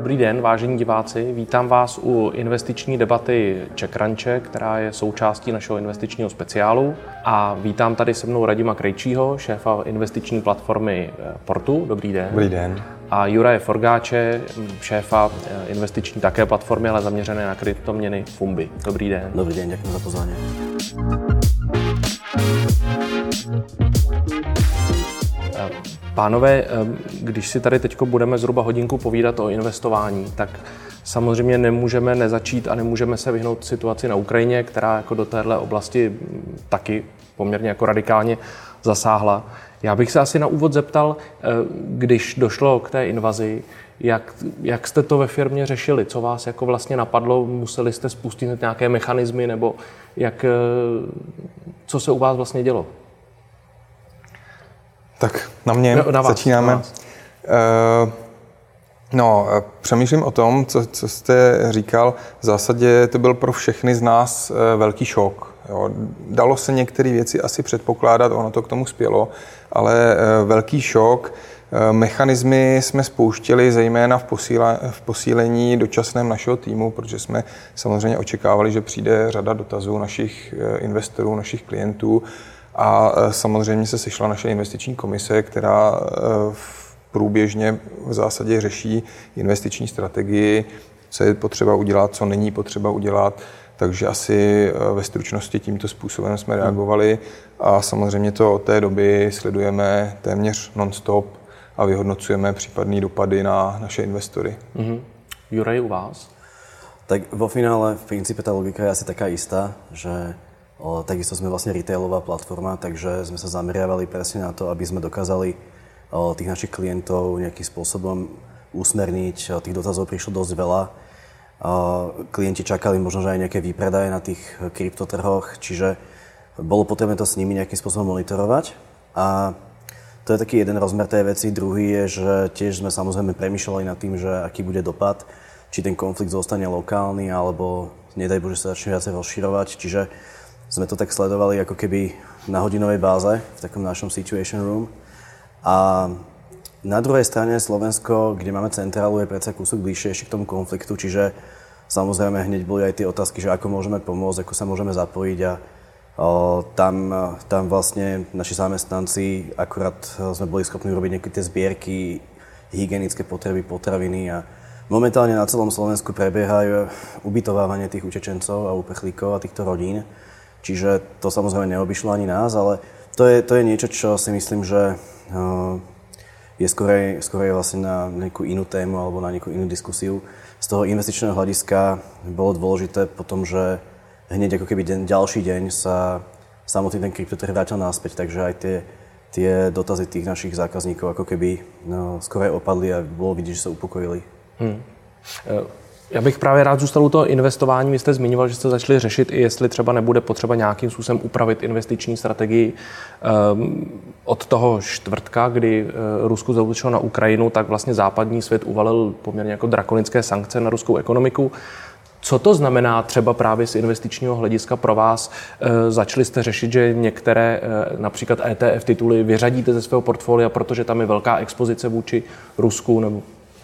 Dobrý den, vážení diváci. Vítám vás u investiční debaty CzechCrunche, která je součástí našeho investičního speciálu. A vítám tady se mnou Radima Krejčího, šéfa investiční platformy Portu. Dobrý den. Dobrý den. A Juraje Forgáče, šéfa investiční také platformy, ale zaměřené na kryptoměny Fumbi. Dobrý den. Dobrý den, děkuji za pozvání. Pánové, když si tady teď budeme zhruba hodinku povídat o investování, tak samozřejmě nemůžeme nezačít a nemůžeme se vyhnout situaci na Ukrajině, která jako do téhle oblasti taky poměrně jako radikálně zasáhla. Já bych se asi na úvod zeptal, když došlo k té invazi, jak jste to ve firmě řešili? Co vás jako vlastně napadlo? Museli jste spustit nějaké mechanismy nebo co se u vás vlastně dělo? Tak na mě na vás, začínáme. Na vás. Přemýšlím o tom, co jste říkal. V zásadě to byl pro všechny z nás velký šok. Jo. Dalo se některé věci asi předpokládat, ono to k tomu spělo, ale velký šok. Mechanismy jsme spouštěli zejména v posílení dočasném našeho týmu, protože jsme samozřejmě očekávali, že přijde řada dotazů našich investorů, našich klientů. A samozřejmě se sešla naše investiční komise, která průběžně v zásadě řeší investiční strategii, co je potřeba udělat, co není potřeba udělat. Takže asi ve stručnosti tímto způsobem jsme reagovali a samozřejmě to od té doby sledujeme téměř non-stop a vyhodnocujeme případné dopady na naše investory. Juraj, u vás? Tak vo finále v princípe tá logika je asi taká istá, že takisto sme vlastne retailová platforma, takže sme sa zameriavali presne na to, aby sme dokázali tých našich klientov nejakým spôsobom usmerniť. Tých dotazov prišlo dosť veľa. Klienti čakali možno, že aj nejaké výpredaje na tých kryptotrhoch, čiže bolo potrebné to s nimi nejakým spôsobom monitorovať. A to je taký jeden rozmer tej veci. Druhý je, že tiež sme samozrejme premýšľali nad tým, že aký bude dopad, či ten konflikt zostane lokálny, alebo nedaj Bože sa začne viacej rozširovať. Čiže sme to tak sledovali ako keby na hodinovej báze v takom našom situation room. A na druhej strane Slovensko, kde máme centrálu, je predsa kúsok bližšie ešte k tomu konfliktu, čiže samozrejme hneď boli aj tie otázky, že ako môžeme pomôcť, ako sa môžeme zapojiť a tam vlastne naši zamestnanci akurát sme boli schopní robiť nejaké tie zbierky, hygienické potreby, potraviny a momentálne na celom Slovensku prebiehajú ubytovávanie tých utečencov a uprchlíkov a týchto rodín. Čiže to samozrejme neobyšlo ani nás, ale to je niečo, čo si myslím, že je skorej vlastne na nejakú inú tému alebo na nejakú inú diskusiu. Z toho investičného hľadiska bolo dôležité potom, že hneď ako keby ďalší deň sa samotný ten kryptotrh vrátil naspäť, takže aj tie dotazy tých našich zákazníkov ako keby skorej opadli a bolo vidieť, že sa upokojili. Já bych právě rád zůstal u toho investování. Vy jste zmiňoval, že jste začali řešit, i jestli třeba nebude potřeba nějakým způsobem upravit investiční strategii. Od toho čtvrtka, kdy Rusko zaútočilo na Ukrajinu, tak vlastně západní svět uvalil poměrně jako drakonické sankce na ruskou ekonomiku. Co to znamená třeba právě z investičního hlediska pro vás? Začali jste řešit, že některé například ETF tituly vyřadíte ze svého portfolia, protože tam je velká expozice vůči Rusku? Nebo...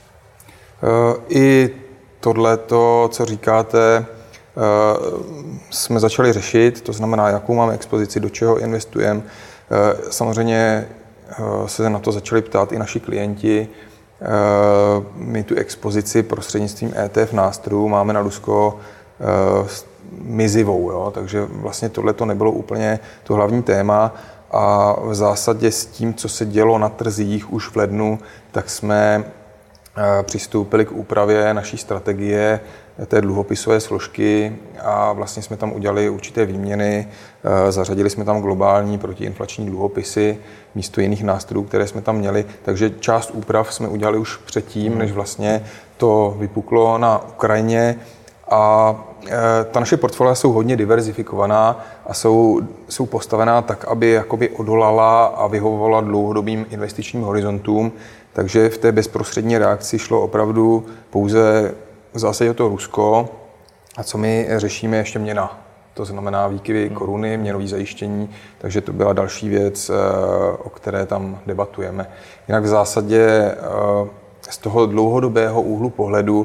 I tohleto, co říkáte, jsme začali řešit, to znamená, jakou máme expozici, do čeho investujeme. Samozřejmě se na to začali ptát i naši klienti. My tu expozici prostřednictvím ETF nástrojů máme na Rusko mizivou, jo? Takže vlastně tohleto nebylo úplně to hlavní téma a v zásadě s tím, co se dělo na trzích už v lednu, tak jsme přistoupili k úpravě naší strategie té dluhopisové složky a vlastně jsme tam udělali určité výměny. Zařadili jsme tam globální protiinflační dluhopisy místo jiných nástrojů, které jsme tam měli. Takže část úprav jsme udělali už předtím, než vlastně to vypuklo na Ukrajině. A ta naše portfolia jsou hodně diverzifikovaná a jsou postavená tak, aby jakoby odolala a vyhovovala dlouhodobým investičním horizontům. Takže v té bezprostřední reakci šlo opravdu pouze v zásadě o to Rusko. A co my řešíme, ještě měna. To znamená výkyvy koruny, měnové zajištění, takže to byla další věc, o které tam debatujeme. Jinak v zásadě z toho dlouhodobého úhlu pohledu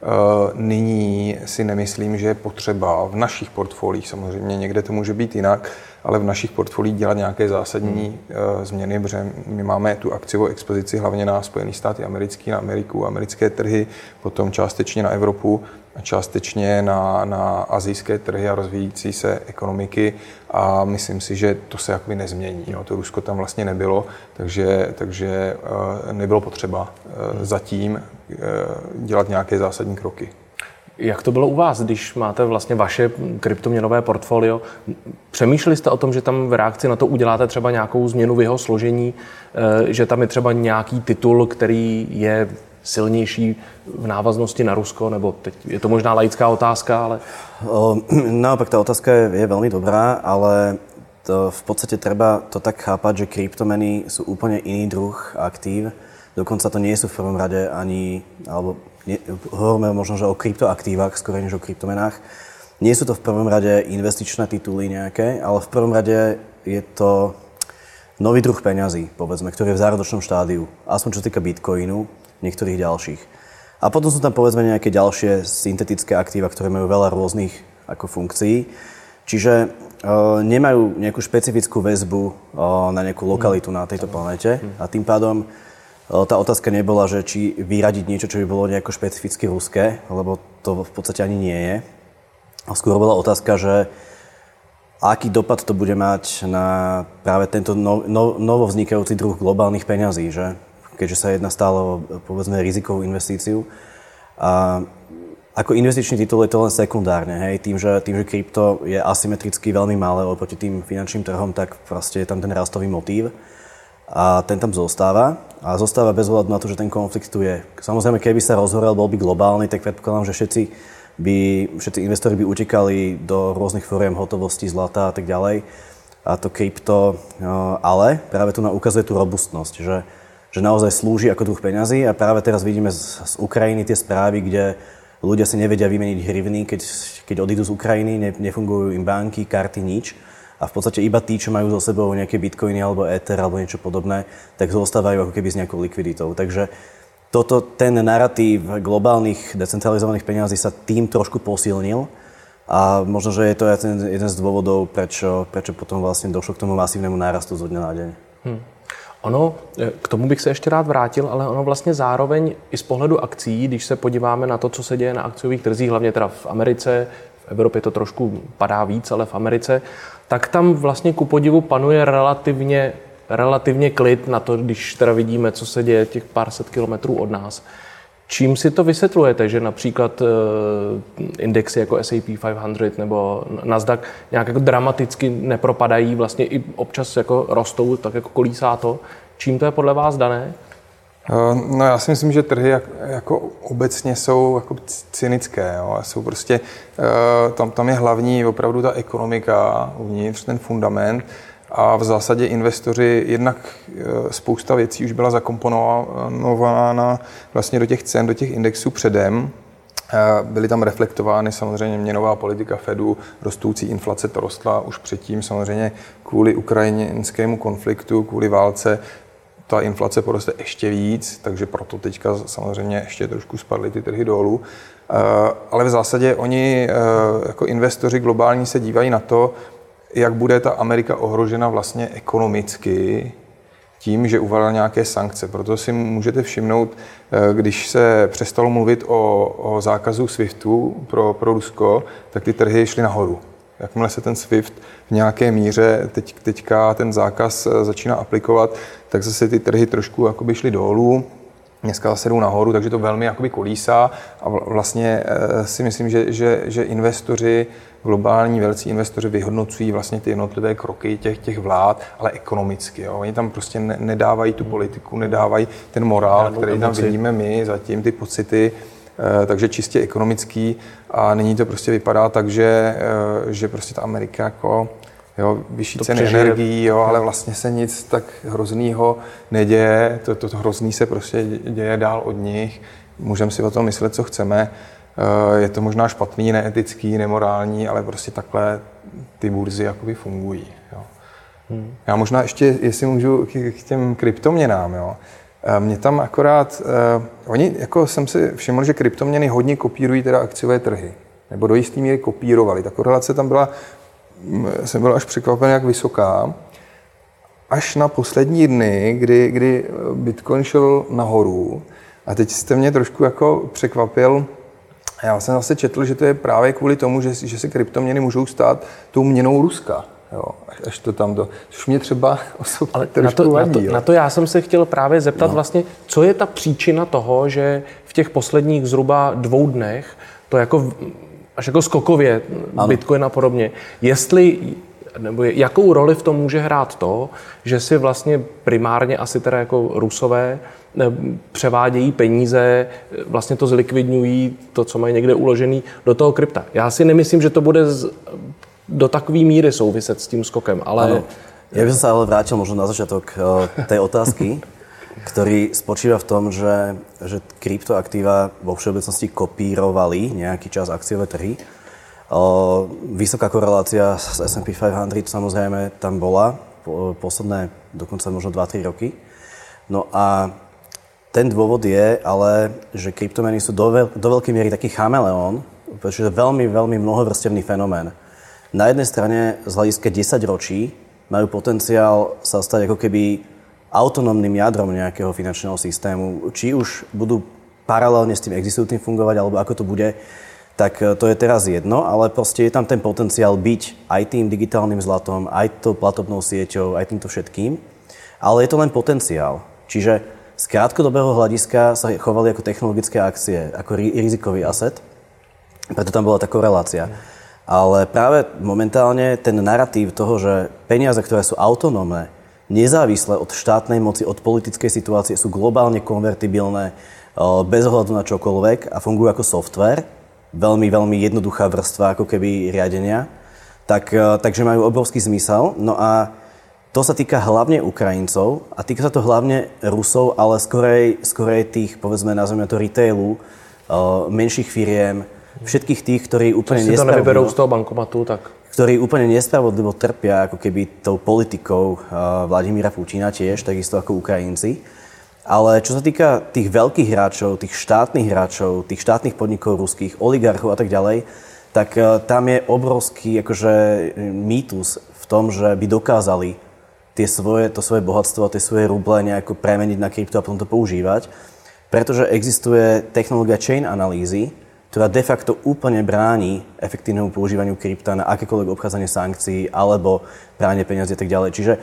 nyní si nemyslím, že je potřeba v našich portfoliích, samozřejmě někde to může být jinak, ale v našich portfoliích dělat nějaké zásadní změny, protože my máme tu akciovou expozici hlavně na Spojené státy americké, na Ameriku, americké trhy, potom částečně na Evropu a částečně na asijské trhy a rozvíjící se ekonomiky a myslím si, že to se jakoby nezmění. Jo. To Rusko tam vlastně nebylo, takže nebylo potřeba zatím dělat nějaké zásadní kroky. Jak to bylo u vás, když máte vlastně vaše kryptoměnové portfolio? Přemýšleli jste o tom, že tam v reakci na to uděláte třeba nějakou změnu v jeho složení, že tam je třeba nějaký titul, který je silnější v návaznosti na Rusko, nebo teď je to možná laická otázka, ale... Naopak, tá otázka je veľmi dobrá, ale v podstate treba to tak chápať, že kryptomeny sú úplne iný druh aktív. Dokonca to nie sú v prvom rade ani, alebo hovoríme možno, že o kryptoaktívach, skôr než o kryptomenách. Nie sú to v prvom rade investičné tituly nejaké, ale v prvom rade je to nový druh peňazí, povedzme, ktorý je v zárodočnom štádiu. Aspoň čo sa týka Bitcoinu, niektorých ďalších. A potom sú tam povedzme nejaké ďalšie syntetické aktíva, ktoré majú veľa rôznych ako funkcií. Čiže nemajú nejakú špecifickú väzbu na nejakú lokalitu na tejto planéte a tým pádom tá otázka nebola, že či vyradiť niečo, čo by bolo nejako špecificky ruské, lebo to v podstate ani nie je. A skôr bola otázka, že aký dopad to bude mať na práve tento novovznikajúci druh globálnych peňazí, že? Keďže sa jedná stále o, povedzme, rizikovú investíciu. A ako investičný titul je to len sekundárne, hej? Tým, že krypto je asymetricky veľmi malé oproti tým finančným trhom, tak proste je tam ten rastový motív. A ten tam zostáva. A zostáva bez ohľadu na to, že ten konflikt tu je. Samozrejme, keby sa rozhorel, bol by globálny, tak predpokladám, že všetci investori by utekali do rôznych foriem hotovosti, zlata a tak ďalej. A to krypto, ale práve tu nám ukazuje tú robustnosť, že naozaj slúži ako druh peňazí a práve teraz vidíme z Ukrajiny tie správy, kde ľudia si nevedia vymeniť hrivny, keď odídu z Ukrajiny, nefungujú im banky, karty, nič. A v podstate iba tí, čo majú so sebou nejaké bitcoiny alebo ether alebo niečo podobné, tak zostávajú ako keby s nejakou likviditou. Takže ten narratív globálnych decentralizovaných peňazí sa tým trošku posilnil a možno, že je to jeden z dôvodov, prečo potom vlastne došlo k tomu masívnemu nárastu zo dňa na deň. Ono, k tomu bych se ještě rád vrátil, ale ono vlastně zároveň i z pohledu akcí, když se podíváme na to, co se děje na akciových trzích, hlavně teda v Americe, v Evropě to trošku padá víc, ale v Americe, tak tam vlastně ku podivu panuje relativně klid na to, když teda vidíme, co se děje těch pár set kilometrů od nás. Čím si to vysvětlujete, že například indexy jako S&P 500 nebo Nasdaq nějak jako dramaticky nepropadají, vlastně i občas jako rostou, tak jako kolísá to? Čím to je podle vás dané? No já si myslím, že trhy jako obecně jsou jako cynické. Jo. Jsou prostě, tam je hlavní opravdu ta ekonomika uvnitř, ten fundament. A v zásadě investoři, jednak spousta věcí už byla zakomponována vlastně do těch cen, do těch indexů předem. Byly tam reflektovány samozřejmě měnová politika Fedu, rostoucí inflace, to rostla už předtím samozřejmě kvůli ukrajinskému konfliktu, kvůli válce. Ta inflace poroste ještě víc, takže proto teďka samozřejmě ještě trošku spadly ty trhy dolů. Ale v zásadě oni jako investoři globální se dívají na to, jak bude ta Amerika ohrožena vlastně ekonomicky tím, že uvalila nějaké sankce. Proto si můžete všimnout, když se přestalo mluvit o zákazu SWIFTu pro Rusko, tak ty trhy šly nahoru. Jakmile se ten SWIFT v nějaké míře teďka ten zákaz začíná aplikovat, tak zase ty trhy trošku jakoby šly dolů. Dneska zase jdou nahoru, takže to velmi jakoby kolísá a vlastně si myslím, že investoři, globální velcí investoři vyhodnocují vlastně ty jednotlivé kroky těch vlád, ale ekonomicky. Jo. Oni tam prostě nedávají tu politiku, nedávají ten morál, který tam vidíme my, zatím ty pocity, takže čistě ekonomický a nyní to prostě vypadá tak, že prostě ta Amerika jako vyšší ceny energií, ale vlastně se nic tak hroznýho neděje, to hrozný se prostě děje dál od nich, můžeme si o tom myslet, co chceme, je to možná špatný, neetický, nemorální, ale prostě takhle ty burzy jakoby fungují. Jo. Já možná ještě, jestli můžu k těm kryptoměnám, jo. Mě tam akorát, oni, jako jsem si všiml, že kryptoměny hodně kopírují teda akciové trhy, nebo do jistý míry kopírovali. Ta korelace tam byla, jsem byl až překvapen, jak vysoká, až na poslední dny, kdy Bitcoin šel nahoru. A teď jste mě trošku jako překvapil. Já jsem zase četl, že to je právě kvůli tomu, že se kryptoměny můžou stát tou měnou Ruska. Jo, až to tam to, což mě třeba osobně trošku vadí. Na to já jsem se chtěl právě zeptat vlastně, co je ta příčina toho, že v těch posledních zhruba 2 dnech to jako až jako skokově Bitcoin a podobně, nebo jakou roli v tom může hrát to, že si vlastně primárně asi teda jako Rusové převádějí peníze, vlastně to zlikvidňují, to, co mají někde uložený, do toho krypta. Já si nemyslím, že to bude do takové míry souviset s tím skokem, ale... Ano. Ja by som sa ale vrátil možno na začiatok tej otázky, ktorý spočíva v tom, že kryptoaktíva vo všeobecnosti kopírovali nejaký čas akciové trhy. Vysoká korelácia s S&P 500 samozrejme tam bola posledné dokonca možno 2-3 roky. No a ten dôvod je ale, že kryptomeny sú do veľkej miery taký chameleón, pretože je veľmi, veľmi mnohovrstevný fenomén. Na jednej strane z hľadiska 10 ročí majú potenciál sa stať ako keby autonómnym jadrom nejakého finančného systému. Či už budú paralelne s tým existujúcim fungovať, alebo ako to bude, tak to je teraz jedno, ale proste je tam ten potenciál byť aj tým digitálnym zlatom, aj tou platobnou sieťou, aj týmto všetkým. Ale je to len potenciál. Čiže z krátkodobého hľadiska sa chovali ako technologické akcie, ako rizikový asset. Preto tam bola tá korelácia. Ale práve momentálne ten narratív toho, že peniaze, ktoré sú autonómne, nezávislé od štátnej moci, od politickej situácie, sú globálne konvertibilné bez ohľadu na čokoľvek a fungujú ako software, veľmi, veľmi jednoduchá vrstva ako keby riadenia, takže majú obrovský zmysel. No a to sa týka hlavne Ukrajincov a týka sa to hlavne Rusov, ale skorej tých, povedzme, nazveme to retailu, menších firiem, všetkých tých, ktorí úplne nespravodlivo... si to nevyberou z toho bankomatu, tak... Ktorí úplne nespravodlivo trpia ako keby tou politikou Vladimíra Putina tiež, takisto ako Ukrajinci. Ale čo sa týka tých veľkých hráčov, tých štátnych podnikov ruských, oligarchov a tak ďalej, tak tam je obrovský akože mýtus v tom, že by dokázali to svoje bohatstvo, tie svoje ruble nejako premeniť na krypto a potom to používať. Pretože existuje technológia chain analýzy, ktorá de facto úplne bráni efektívnemu používaniu krypta na akékoľvek obchádzanie sankcií alebo pranie peniazí a tak ďalej. Čiže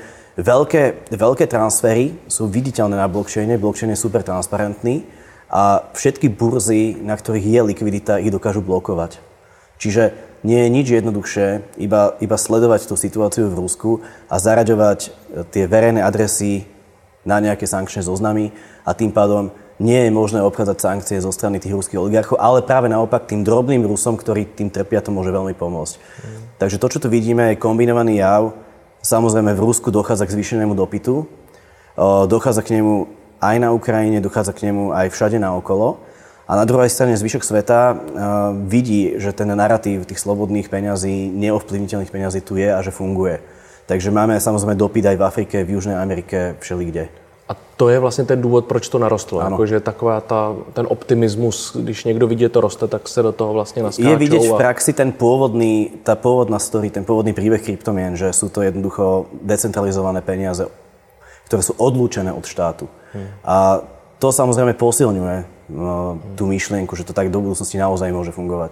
veľké transfery sú viditeľné na blockchaine, blockchain je super transparentný a všetky burzy, na ktorých je likvidita, ich dokážu blokovať. Čiže nie je nič jednoduchšie, iba sledovať tú situáciu v Rusku a zaraďovať tie verejné adresy na nejaké sankčné zoznamy a tým pádom nie je možné obchádzať sankcie zo strany tých ruských oligarchov, ale práve naopak tým drobným Rusom, ktorí tým trpia, to môže veľmi pomôcť. Takže to, čo tu vidíme, je kombinovaný jav. Samozrejme v Rusku dochádza k zvýšenému dopytu, dochádza k nemu aj na Ukrajine, dochádza k nemu aj všade naokolo. A na druhej strane zvyšok sveta vidí, že ten narratív tých slobodných peňazí, neovplyvniteľných peňazí tu je a že funguje. Takže máme samozrejme dopyt aj v Afrike, v Južnej Amerike, všelikde. A to je vlastně ten důvod, proč to narostlo. Jakože taková ten optimismus, když někdo vidí, že to roste, tak se do toho vlastně naskáčou. Je vidět v praxi tá pôvodná story, ten pôvodný príbeh kryptomien, že sú to jednoducho decentralizované peniaze, ktoré sú odlúčené od štátu. A to samozrejme posilňuje tú myšlienku, že to tak do budúcnosti naozaj môže fungovať.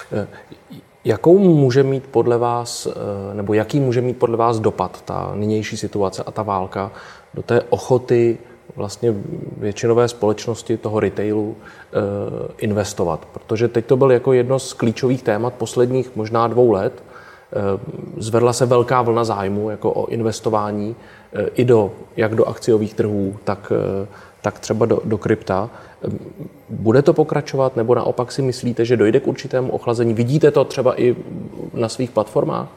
Jakou může mít podle vás, nebo jaký může mít podle vás dopad ta nynější situace a ta válka do té ochoty vlastně většinové společnosti toho retailu investovat? Protože teď to byl jako jedno z klíčových témat posledních možná 2 let. Zvedla se velká vlna zájmu jako o investování i jak do akciových trhů, tak třeba do krypta. Bude to pokračovat, nebo naopak si myslíte, že dojde k určitému ochlazení? Vidíte to třeba i na svých platformách?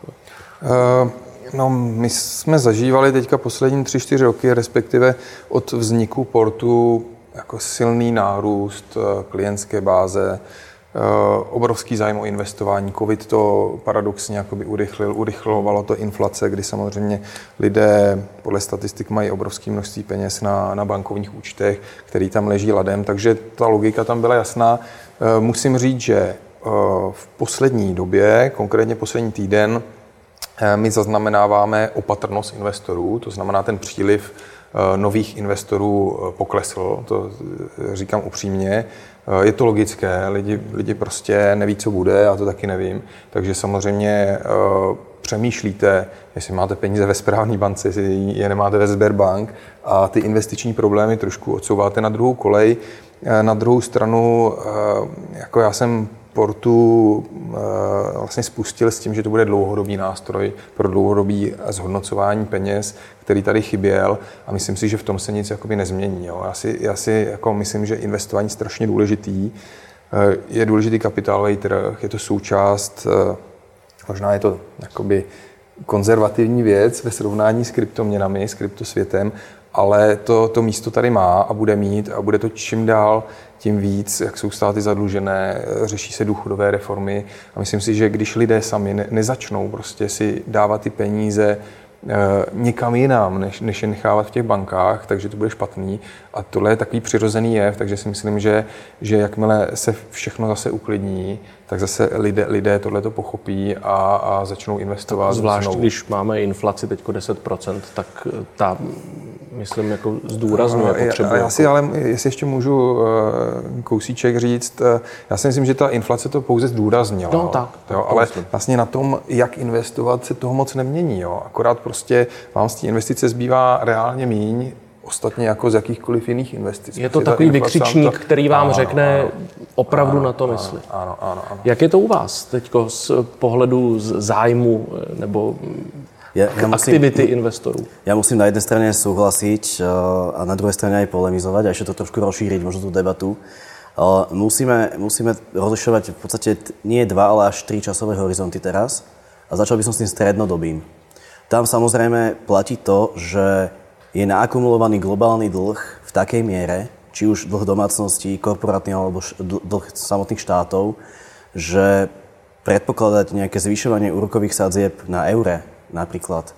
No, my jsme zažívali teďka poslední 3-4 roky, respektive od vzniku portu jako silný nárůst klientské báze, obrovský zájem o investování. Covid to paradoxně jakoby urychlovalo to inflace, kdy samozřejmě lidé podle statistik mají obrovské množství peněz na bankovních účtech, který tam leží ladem, takže ta logika tam byla jasná. Musím říct, že v poslední době, konkrétně poslední týden, my zaznamenáváme opatrnost investorů, to znamená ten příliv nových investorů poklesl, to říkám upřímně. Je to logické, lidi prostě neví, co bude, já to taky nevím, takže samozřejmě přemýšlíte, jestli máte peníze ve správné bance, jestli je nemáte ve Sberbank a ty investiční problémy trošku odsouváte na druhou kolej. Na druhou stranu, jako já jsem Portu vlastně spustil s tím, že to bude dlouhodobý nástroj pro dlouhodobý zhodnocování peněz, který tady chyběl a myslím si, že v tom se nic jakoby nezmění. Jo. Já si jako myslím, že investování je strašně důležitý. Je důležitý kapitálový trh, je to součást, možná je to jakoby konzervativní věc ve srovnání s kryptoměnami, s kryptosvětem, ale to místo tady má a bude mít a bude to čím dál tím víc, jak jsou státy zadlužené, řeší se důchodové reformy a myslím si, že když lidé sami nezačnou prostě si dávat ty peníze někam jinam, než je nechávat v těch bankách, takže to bude špatný. A tohle je takový přirozený jev, takže si myslím, že jakmile se všechno zase uklidní, tak zase lidé tohleto pochopí a začnou investovat. Zvlášť, když máme inflaci teďko 10%, tak ta, myslím, jako zdůrazňuje potřebu. Já si ale, jestli ještě můžu kousíček říct, já si myslím, že ta inflace to pouze zdůraznila. No, tak, ale vlastně na tom, jak investovat, se toho moc nemění. Jo. Akorát prostě vám z té investice zbývá reálně míň, ostatně jako z jakýchkoliv jiných investic. Je to takový vykřičník, který vám řekne opravdu na to mysli. Ano. Jak je to u vás teďko z pohledu zájmu nebo aktivity investorů? Ja musím na jednej strane súhlasiť a na druhej strane aj polemizovať a ešte to trošku rozšíriť, možno tú debatu. Musíme rozlišovať v podstate nie 2, ale až 3 časové horizonty teraz a začal by som s tým strednodobým. Tam samozrejme platí to, že je naakumulovaný globálny dlh v takej miere, či už dlh domácností, korporátny alebo dlh samotných štátov, že predpokladať nejaké zvyšovanie úrokových sadzieb na eure napríklad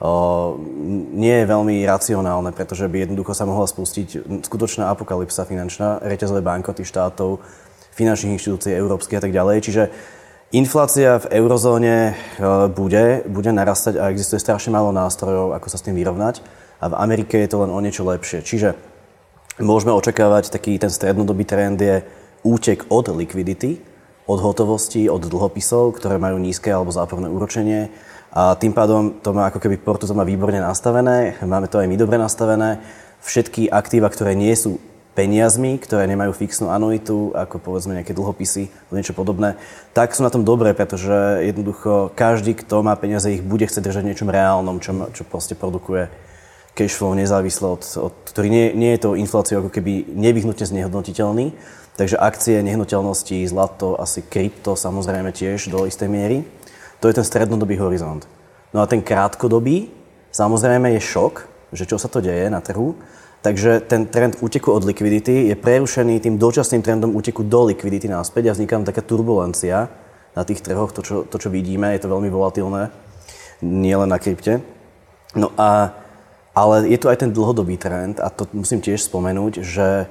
nie je veľmi racionálne, pretože by jednoducho sa mohla spustiť skutočná apokalypsa finančná, reťazové bankroty štátov, finančných inštitúcií európskych a tak ďalej. Čiže inflácia v eurozóne bude narastať a existuje strašne málo nástrojov, ako sa s tým vyrovnať. A v Amerike je to len o niečo lepšie. Čiže môžeme očakávať taký ten strednodobý trend je útek od likvidity, od hotovosti, od dlhopisov, ktoré majú nízke alebo záporné úročenie. A tým pádom to má ako keby Porto to má výborne nastavené, máme to aj my dobre nastavené. Všetky aktíva, ktoré nie sú peniazmi, ktoré nemajú fixnú anuitu, ako povedzme nejaké dlhopisy alebo niečo podobné, tak sú na tom dobré, pretože jednoducho každý, kto má peniaze, ich bude chcieť držať v niečom reálnom, čo proste produkuje cashflow nezávisle od ktorý nie je to infláciou ako keby nevyhnutne znehodnotiteľný. Takže akcie, nehnuteľnosti, zlato, asi krypto samozrejme tiež do istej miery. To je ten strednodobý horizont. No a ten krátkodobý, samozrejme je šok, že čo sa to deje na trhu. Takže ten trend úteku od likvidity je prerušený tým dočasným trendom úteku do likvidity naspäť a vzniká taká turbulencia na tých trhoch, to, čo vidíme, je to veľmi volatilné, nielen na krypte. No ale je tu aj ten dlhodobý trend a to musím tiež spomenúť, že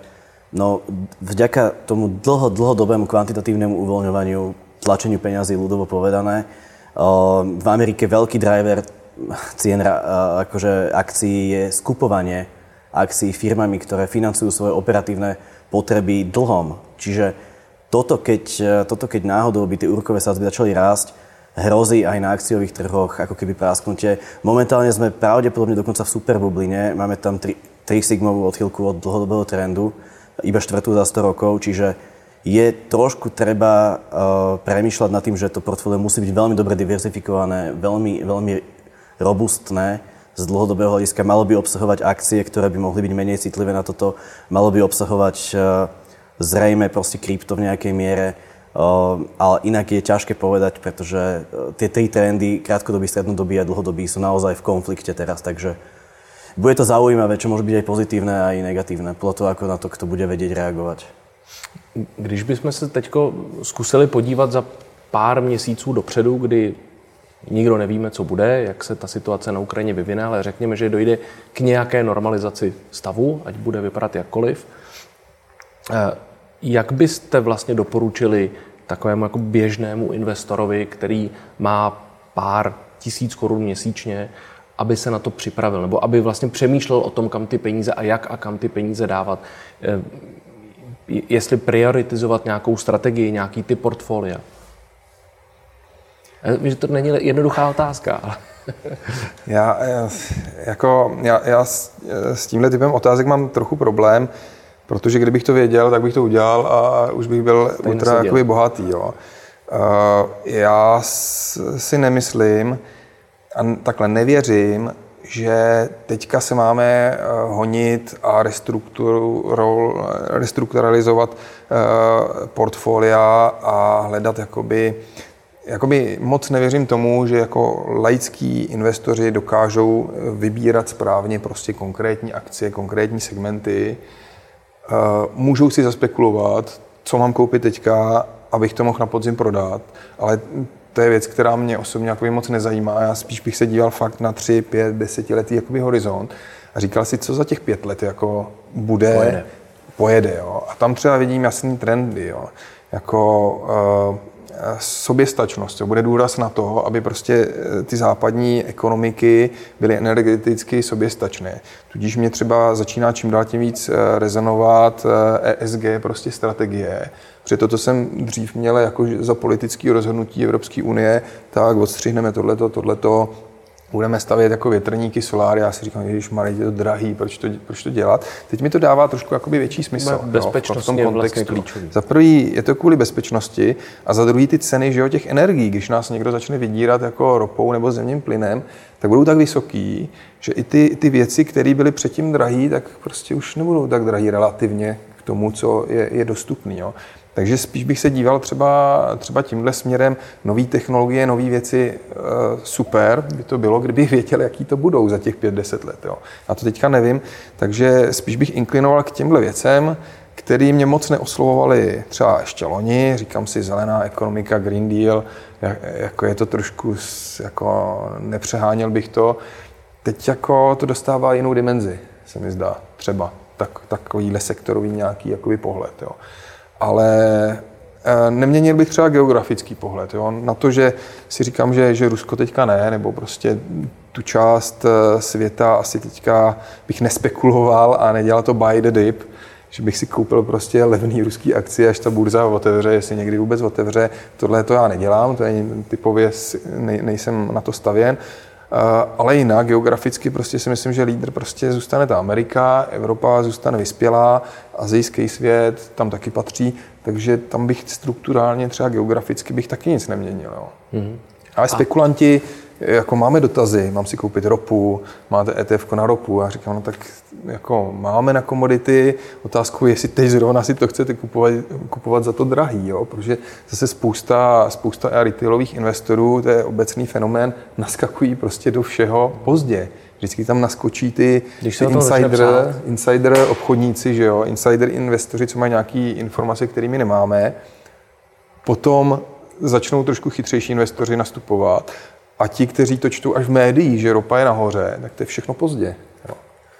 vďaka tomu dlhodobému kvantitatívnemu uvoľňovaniu, tlačeniu peňazí, ľudovo povedané, v Amerike veľký driver cien akože akcií je skupovanie akcií firmami, ktoré financujú svoje operatívne potreby dlhom. Čiže toto, keď náhodou by tie úrokové sadzby začali rásť, hrozí aj na akciových trhoch ako keby prásknutie. Momentálne sme pravdepodobne dokonca v superbubline, máme tam 3 sigmovú odchýlku od dlhodobého trendu, iba 4. za 100 rokov, čiže je trošku treba premýšľať nad tým, že to portfólio musí byť veľmi dobre diverzifikované, veľmi, veľmi robustné z dlhodobého hľadiska. Malo by obsahovať akcie, ktoré by mohli byť menej citlivé na toto. Malo by obsahovať zrejme proste krypto v nejakej miere. Ale inak je ťažké povedať, pretože tie 3 trendy, krátkodobý, strednodobý a dlhodobý, sú naozaj v konflikte teraz, takže bude to zaujímavé, čo môže byť aj pozitívne, aj negatívne, podľa toho, ako na to kto bude vedieť reagovať. Když bychom se teď zkusili podívat za pár měsíců dopředu, kdy nikdo nevíme, co bude, jak se ta situace na Ukrajině vyvine, ale řekněme, že dojde k nějaké normalizaci stavu, ať bude vypadat jakkoliv. Jak byste vlastně doporučili takovému jako běžnému investorovi, který má pár tisíc korun měsíčně, aby se na to připravil, nebo aby vlastně přemýšlel o tom, kam ty peníze a jak a kam ty peníze dávat? Jestli prioritizovat nějakou strategii, nějaký typ portfolia? Já vím, že to není jednoduchá otázka, ale... Já s tímhle typem otázek mám trochu problém, protože kdybych to věděl, tak bych to udělal a už bych byl ultra jakoby bohatý. Jo. Já si nemyslím a takhle nevěřím, že teďka se máme honit a restrukturalizovat portfolia a hledat jakoby moc nevěřím tomu, že jako laický investoři dokážou vybírat správně prostě konkrétní akcie, konkrétní segmenty. Můžou si zaspekulovat, co mám koupit teďka, abych to mohl na podzim prodat, ale to je věc, která mě osobně jakoby moc nezajímá. Já spíš bych se díval fakt na 3, 5, 10 letý jakoby horizont a říkal si, co za těch 5 let jako pojede. Jo. A tam třeba vidím jasný trendy. Jo. Jako soběstačnost. Jo. Bude důraz na to, aby prostě ty západní ekonomiky byly energeticky soběstačné. Tudíž mě třeba začíná čím dál tím víc rezonovat ESG prostě strategie. Protože to, co jsem dřív měl jako za politické rozhodnutí Evropské unie, tak odstřihneme tohleto, budeme stavět jako větrníky, soláry. Já si říkám, ježišmarja, je to drahý, proč to dělat? Teď mi to dává trošku jakoby větší smysl. Bezpečnost v tom kontextu. Vlastně klíčový. Za prvý je to kvůli bezpečnosti a za druhý ty ceny, že jo, těch energií, když nás někdo začne vydírat jako ropou nebo zemním plynem, tak budou tak vysoký, že i ty věci, které byly předtím drahý, tak prostě už nebudou tak drahý relativně k tomu, co je dostupný. Jo. Takže spíš bych se díval třeba tímhle směrem. Nové technologie, nové věci, super by to bylo, kdybych věděl, jaký to budou za těch 5-10 let. Jo. Já to teďka nevím, takže spíš bych inklinoval k těmhle věcem, které mě moc neoslovovaly třeba ještě loni. Říkám si, zelená ekonomika, Green Deal, jako je to trošku, jako nepřeháněl bych to. Teď jako to dostává jinou dimenzi, se mi zdá, třeba takovýhle sektorový nějaký jakoby pohled. Jo. Ale neměnil bych třeba geografický pohled. Jo? Na to, že si říkám, že Rusko teďka ne, nebo prostě tu část světa asi teďka bych nespekuloval a nedělal to buy the dip, že bych si koupil prostě levný ruský akcie, až ta burza otevře, jestli někdy vůbec otevře. Tohle to já nedělám, to je typově, nejsem na to stavěn. Ale jinak, geograficky prostě si myslím, že lídr prostě zůstane ta Amerika, Evropa zůstane vyspělá, asijský svět tam taky patří, takže tam bych strukturálně třeba geograficky bych taky nic neměnil. Jo. Mm-hmm. Ale spekulanti, jako máme dotazy, mám si koupit ropu, máte ETF na ropu, já říkám, no tak jako máme na komodity, otázkou je, jestli teď zrovna si to chcete kupovat za to drahý, jo? Protože zase spousta retailových investorů, to je obecný fenomén, naskakují prostě do všeho pozdě. Vždycky tam naskočí ty insider obchodníci, že jo? Insider investoři, co mají nějaké informace, které my nemáme. Potom začnou trošku chytřejší investoři nastupovat. A ti, kteří to čtou až v médiích, že ropa je nahoře, tak to je všechno pozdě. Jo.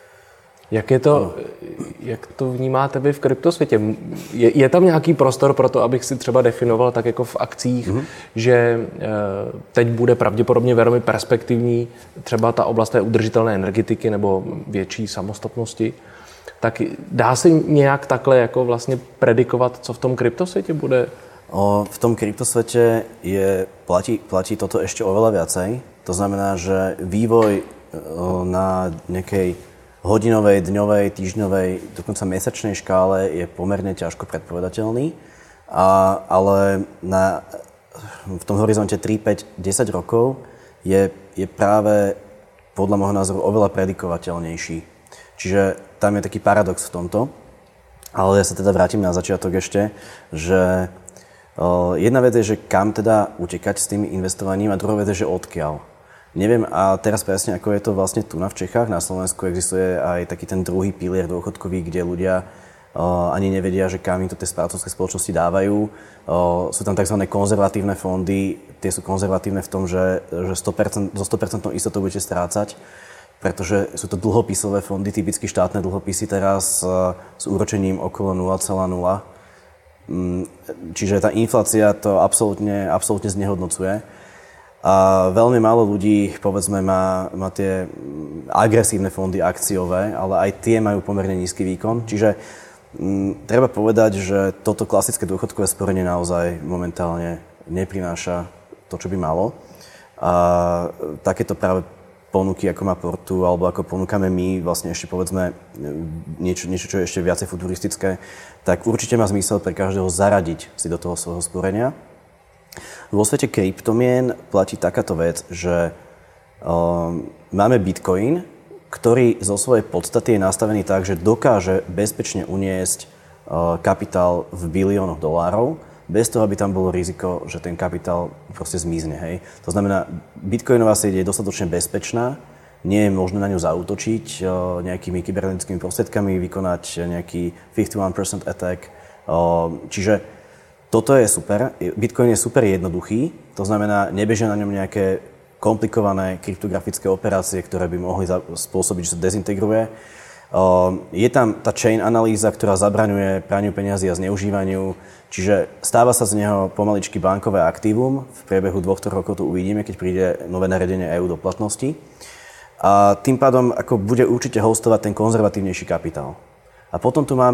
Jak to vnímáte vy v kryptosvětě? Je tam nějaký prostor pro to, abych si třeba definoval tak jako v akcích, že teď bude pravděpodobně velmi perspektivní třeba ta oblast té udržitelné energetiky nebo větší samostatnosti? Tak dá se nějak takhle jako vlastně predikovat, co v tom kryptosvětě bude? V tom kryptosvete platí toto ešte oveľa viacej. To znamená, že vývoj na nejakej hodinovej, dňovej, týždňovej, dokonca mesačnej škále je pomerne ťažko predpovedateľný. Ale v tom horizonte 3, 5, 10 rokov je práve podľa môjho názoru oveľa predikovateľnejší. Čiže tam je taký paradox v tomto. Ale ja sa teda vrátim na začiatok ešte, že jedna vec je, že kam teda utekať s tým investovaním a druhá vec je, že odkiaľ. Neviem, a teraz presne ako je to vlastne tu v Čechách, na Slovensku existuje aj taký ten druhý pilier dôchodkový, kde ľudia ani nevedia, že kam im to tie správcovské spoločnosti dávajú. Sú tam tzv. Konzervatívne fondy, tie sú konzervatívne v tom, že 100%, so 100% istotou budete strácať, pretože sú to dlhopisové fondy, typicky štátne dlhopisy teraz s úročením okolo 0,0. Čiže tá inflácia to absolútne znehodnocuje. A veľmi málo ľudí, povedzme, má tie agresívne fondy akciové, ale aj tie majú pomerne nízky výkon. Čiže treba povedať, že toto klasické dôchodkové sporenie naozaj momentálne neprináša to, čo by malo. A takéto práve ponuky, ako má Portu, alebo ako ponúkame my, vlastne ešte povedzme niečo, čo je ešte viacej futuristické, tak určite má zmysel pre každého zaradiť si do toho svojho sporenia. Vo svete kryptomien platí takáto vec, že máme Bitcoin, ktorý zo svojej podstaty je nastavený tak, že dokáže bezpečne uniesť kapitál v biliónoch dolárov, bez toho, aby tam bolo riziko, že ten kapitál proste zmizne. Hej. To znamená, bitcoinová sieť je dostatočne bezpečná, nie je možné na ňu zaútočiť nejakými kybernetickými prostriedkami, vykonať nejaký 51% attack. Čiže toto je super. Bitcoin je super jednoduchý, to znamená, nebežia na ňom nejaké komplikované kryptografické operácie, ktoré by mohli spôsobiť, že sa dezintegruje. Je tam tá chain analýza, ktorá zabraňuje praniu peňazí a zneužívaniu, čiže stáva sa z neho pomaličky bankové aktívum. V priebehu 2-3 rokov to uvidíme, keď príde nové nariadenie EU do platnosti. A tým pádom ako bude určite hostovať ten konzervatívnejší kapitál. A potom tu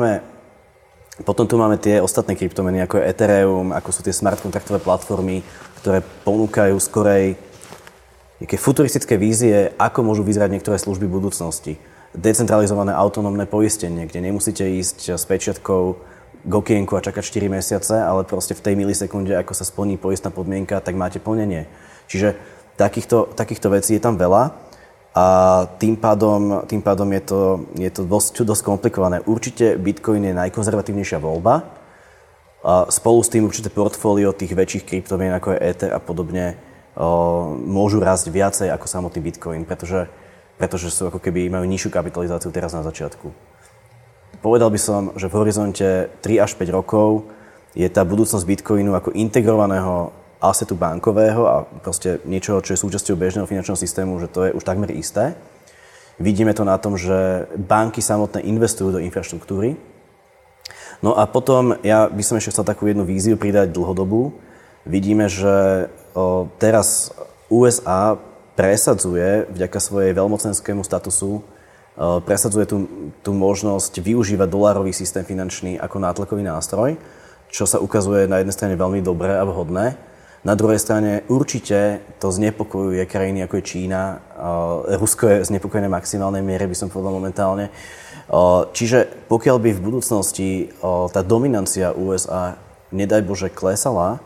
máme tie ostatné kryptomeny, ako je Ethereum, ako sú tie smart kontraktové platformy, ktoré ponúkajú skorej nejaké futuristické vízie, ako môžu vyzerať niektoré služby budúcnosti. Decentralizované autonómne poistenie, kde nemusíte ísť s pečiatkou k okienku a čakať 4 mesiace, ale proste v tej milisekunde, ako sa splní poistná podmienka, tak máte plnenie. Čiže takýchto vecí je tam veľa. A tým pádom je to dosť komplikované. Určite Bitcoin je najkonzervatívnejšia voľba. A spolu s tým určite portfólio tých väčších kryptomien, ako je Ether a podobne, môžu rásť viacej ako samotný Bitcoin, pretože sú ako keby majú nižšiu kapitalizáciu teraz na začiatku. Povedal by som, že v horizonte 3 až 5 rokov je tá budúcnosť Bitcoinu ako integrovaného assetu bankového a proste niečoho, čo je súčasťou bežného finančného systému, že to je už takmer isté. Vidíme to na tom, že banky samotné investujú do infraštruktúry. No a potom ja by som ešte chcel takú jednu víziu pridať dlhodobú. Vidíme, že teraz USA presadzuje vďaka svojej veľmocenskému statusu presadzuje tú možnosť využívať dolárový systém finančný ako nátlakový nástroj, čo sa ukazuje na jednej strane veľmi dobré a vhodné. Na druhej strane určite to znepokojuje krajiny ako je Čína. Rusko je znepokojené v maximálnej miere, by som povedal momentálne. Čiže pokiaľ by v budúcnosti tá dominancia USA, nedaj Bože, klesala,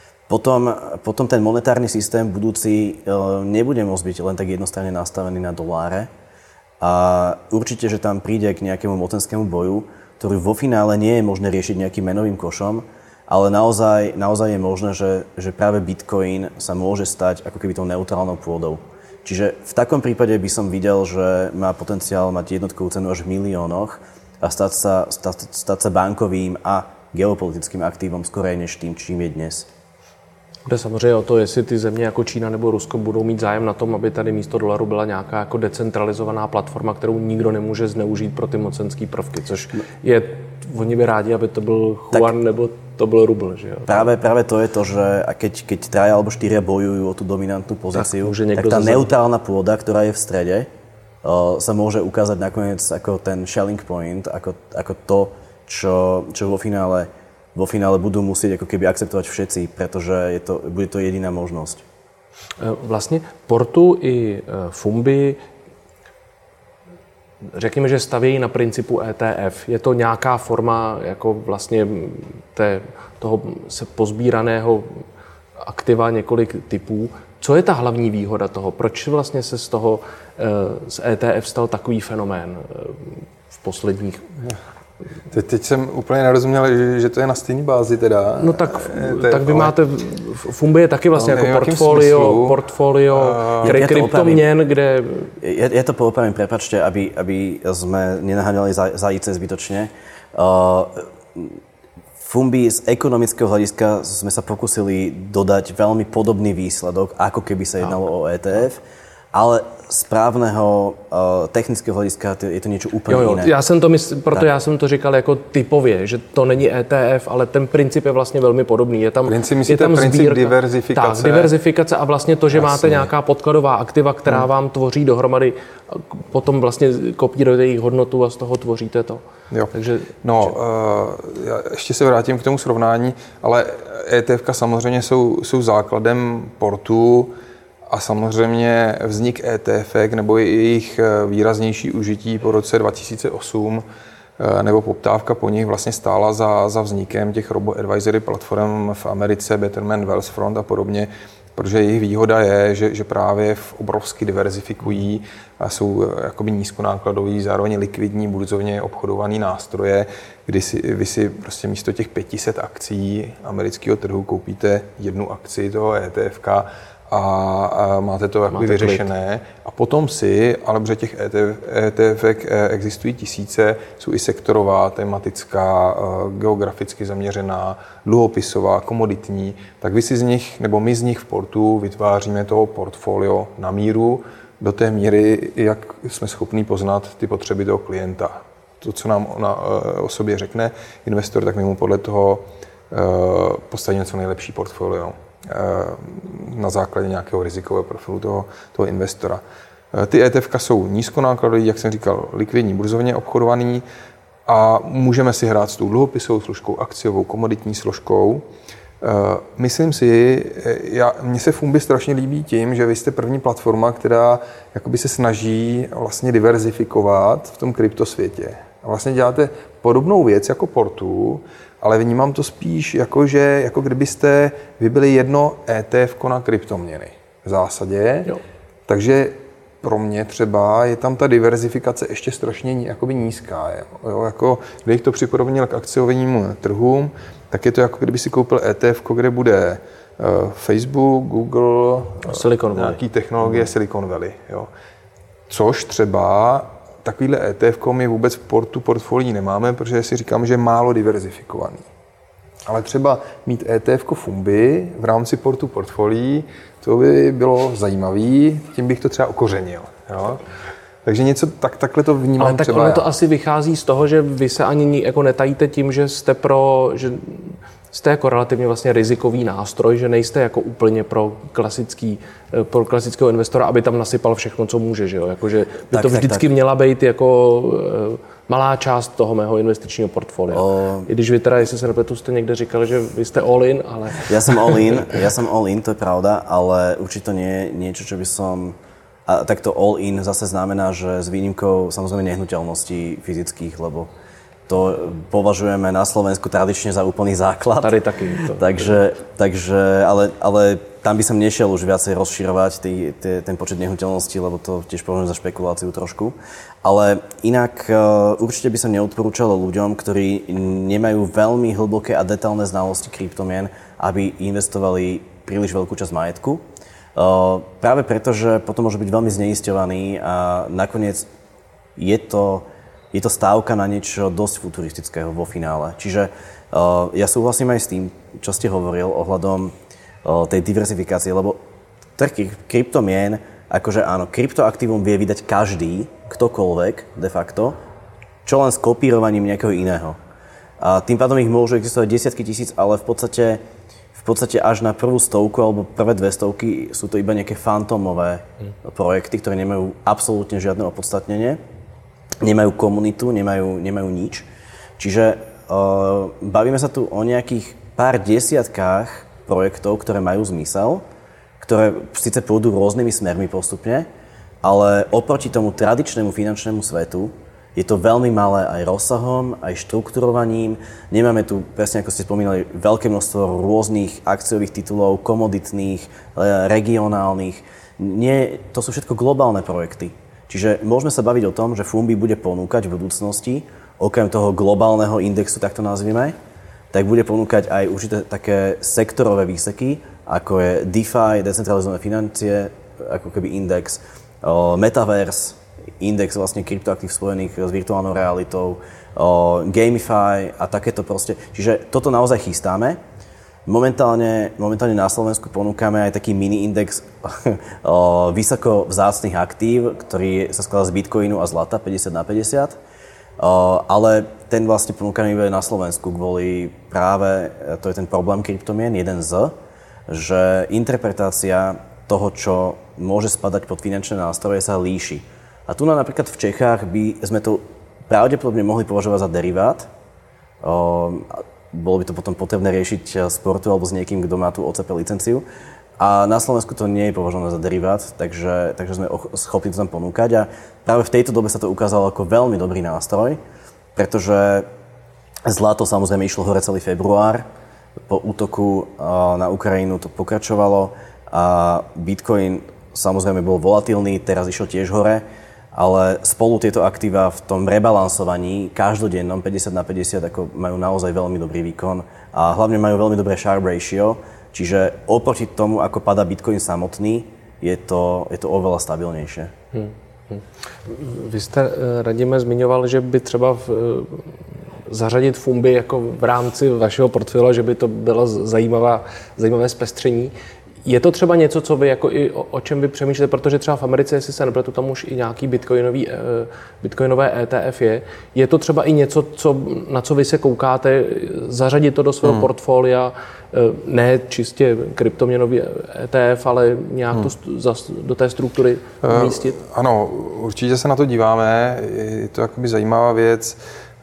potom ten monetárny systém budúci nebude môcť byť len tak jednostranne nastavený na doláre. A určite, že tam príde k nejakému mocenskému boju, ktorý vo finále nie je možné riešiť nejakým menovým košom, ale naozaj je možné, že práve Bitcoin sa môže stať ako keby tou neutrálnou pôdou. Čiže v takom prípade by som videl, že má potenciál mať jednotkovú cenu až v miliónoch a stať sa bankovým a geopolitickým aktívom skorej než tým, čím je dnes. Jde samozřejmě o to, jestli ty země jako Čína nebo Rusko budou mít zájem na tom, aby tady místo dolaru byla nějaká jako decentralizovaná platforma, kterou nikdo nemůže zneužít pro ty mocenské prvky, což je, oni by rádi, aby to byl Yuan nebo to byl rubl, že jo? Práve to je to, že keď 3 alebo 4 bojujú o tú dominantnú pozíciu, tak tá neutrálna pôda, ktorá je v strede, sa môže ukázať nakoniec ako ten shelling point, ako to, čo vo finále budú musieť ako keby akceptovať všetci, pretože bude to jediná možnosť. Vlastně Portu i Fumbi, řekněme, že stavějí na principu ETF. Je to nějaká forma jako vlastně toho se pozbíraného aktiva několik typů. Co je ta hlavní výhoda toho? Proč vlastně se z ETF stal takový fenomén v posledních Teď jsem úplně nerozuměl, že to je na stejné bázi teda. No tak vy máte, Fumbi je taky vlastně jako portfolio kryptoměn, kde... Ja to poopravím, prepáčte, aby sme nenaháňali zajíce zbytočne. Fumbi z ekonomického hľadiska sme sa pokúsili dodať veľmi podobný výsledok, ako keby sa jednalo o ETF, ale z právneho technického hlediska je to niečo úplně jiné. Já jsem to říkal jako typově, že to není ETF, ale ten princip je vlastně velmi podobný. Je tam princip diverzifikace. Tak, diverzifikace a vlastně to, že máte nějaká podkladová aktiva, která vám tvoří dohromady, potom vlastně kopírujete jejich hodnotu a z toho tvoříte to. Jo. Takže, já ještě se vrátím k tomu srovnání, ale ETFka samozřejmě jsou základem portu. A samozřejmě vznik ETFek nebo jejich výraznější užití po roce 2008 nebo poptávka po nich vlastně stála za vznikem těch robo-advisory platform v Americe, Betterment, Wealthfront a podobně, protože jejich výhoda je, že právě obrovsky diverzifikují a jsou jakoby nízkonákladoví, zároveň likvidní, burzovně obchodovaný nástroje, kdy vy si prostě místo těch 500 akcí amerického trhu koupíte jednu akci toho ETFka a máte to jakoby vyřešené. A potom ale protože těch ETFek existují tisíce, jsou i sektorová, tematická, geograficky zaměřená, dluhopisová, komoditní, tak vy si z nich, nebo my z nich v portu vytváříme toho portfolio na míru do té míry, jak jsme schopni poznat ty potřeby toho klienta. To, co nám o sobě řekne investor, tak my mu podle toho postavíme co nejlepší portfolio na základě nějakého rizikového profilu toho investora. Ty ETFka jsou nízkonákladový, jak jsem říkal, likvidní, burzovně obchodovaný a můžeme si hrát s tou dluhopisovou složkou, akciovou, komoditní složkou. Myslím si, mně se Fumbi strašně líbí tím, že vy jste první platforma, která jakoby se snaží vlastně diverzifikovat v tom kryptosvětě. A vlastně děláte podobnou věc jako portu, ale vnímám to spíš jako kdybyste vy byli jedno ETF na kryptoměny v zásadě. Jo. Takže pro mě třeba je tam ta diverzifikace ještě strašně jakoby nízká. Jo? Jako, kdybych to připodobnil k akciovým trhům, tak je to jako kdyby si koupil ETF, kde bude Facebook, Google, nějaký technologie Silicon Valley. Jo? Což třeba takovýhle ETF my vůbec v portfolii nemáme, protože si říkám, že je málo diverzifikovaný. Ale třeba mít ETF Fumbi v rámci portfolií, to by bylo zajímavý, tím bych to třeba okořenil. Jo? Takže něco takhle to vnímám. Ale tak ono to asi vychází z toho, že vy se ani jako netajíte tím, že jste jako relativně vlastně rizikový nástroj, že nejste jako úplně pro klasického investora, aby tam nasypal všechno, co může, že jo? Jakože by to vždycky měla být jako malá část toho mého investičního portfolia. I když vy teda, jestli se nepletu, jste někde říkali, že vy jste all in, ale... Ja som all in, to je pravda, ale určite nie je niečo, čo by som... A takto all in zase znamená, že s výnimkou samozrejme nehnuteľností fyzických, lebo to považujeme na Slovensku tradične za úplný základ. Tady taky. Takže ale tam by som nešiel už viacej rozširovať ten počet nehnuteľností, lebo to tiež považujem za špekuláciu trošku. Ale inak určite by som neodporúčal ľuďom, ktorí nemajú veľmi hlboké a detailné znalosti kryptomien, aby investovali príliš veľkú časť majetku. Práve preto, že potom môže byť veľmi zneisťovaný a nakoniec je to stávka na niečo dosť futuristického vo finále. Čiže ja súhlasím aj s tým, čo ste hovoril ohľadom tej diverzifikácie, lebo trh kryptomien, akože áno, kryptoaktívum vie vydať každý, ktokoľvek de facto, čo len s kopírovaním nejakého iného. A tým pádom ich môžu existovať desiatky tisíc, ale v podstate až na prvú stovku alebo prvé 200 sú to iba nejaké fantómové projekty, ktoré nemajú absolútne žiadne opodstatnenie. Nemajú komunitu, nemajú nič. Čiže bavíme sa tu o nejakých pár desiatkách projektov, ktoré majú zmysel, ktoré síce pôjdu rôznymi smermi postupne, ale oproti tomu tradičnému finančnému svetu je to veľmi malé aj rozsahom, aj štrukturovaním. Nemáme tu, presne ako ste spomínali, veľké množstvo rôznych akciových titulov, komoditných, regionálnych. Nie, to sú všetko globálne projekty. Čiže môžeme sa baviť o tom, že Fumbi bude ponúkať v budúcnosti okrem toho globálneho indexu, tak to nazvime, tak bude ponúkať aj určité také sektorové výseky, ako je DeFi, decentralizované financie, ako keby index, Metaverse, index vlastne kryptoaktív spojených s virtuálnou realitou, Gamify a takéto proste. Čiže toto naozaj chystáme. Momentálne na Slovensku ponúkame aj taký mini-index vysoko vzácnych aktív, ktorý sa skladá z bitcoinu a zlata 50/50. Ale ten vlastne ponúkame iba na Slovensku kvôli práve, to je ten problém kryptomien, jeden z, že interpretácia toho, čo môže spadať pod finančné nástroje, sa líši. A tu napríklad v Čechách by sme to pravdepodobne mohli považovať za derivát. Bolo by to potom potrebné riešiť sportu alebo s niekým, kto má tú OCP licenciu. A na Slovensku to nie je považované za derivát, takže sme schopní to tam ponúkať. A práve v tejto dobe sa to ukázalo ako veľmi dobrý nástroj, pretože zlato samozrejme išlo hore celý február. Po útoku na Ukrajinu to pokračovalo a Bitcoin samozrejme bol volatilný, teraz išiel tiež hore, ale spolu tieto aktíva v tom rebalansovaní každodennom 50/50 ako majú naozaj veľmi dobrý výkon a hlavne majú veľmi dobré Sharpe ratio, čiže oproti tomu, ako padá Bitcoin samotný, je to oveľa stabilnejšie. Vy jste, Radime, zmiňoval, že by třeba zařadit funby jako v rámci vašeho portfolia, že by to bylo zajímavé zpestření. Je to třeba něco, co vy jako i o čem vy přemýšlíte, protože třeba v Americe, jestli se nepletu, tam už i nějaký bitcoinové ETF je. Je to třeba i něco, na co vy se koukáte, zařadit to do svého portfolia, ne čistě kryptoměnový ETF, ale nějak to do té struktury umístit? Ano, určitě se na to díváme, je to jakoby zajímavá věc.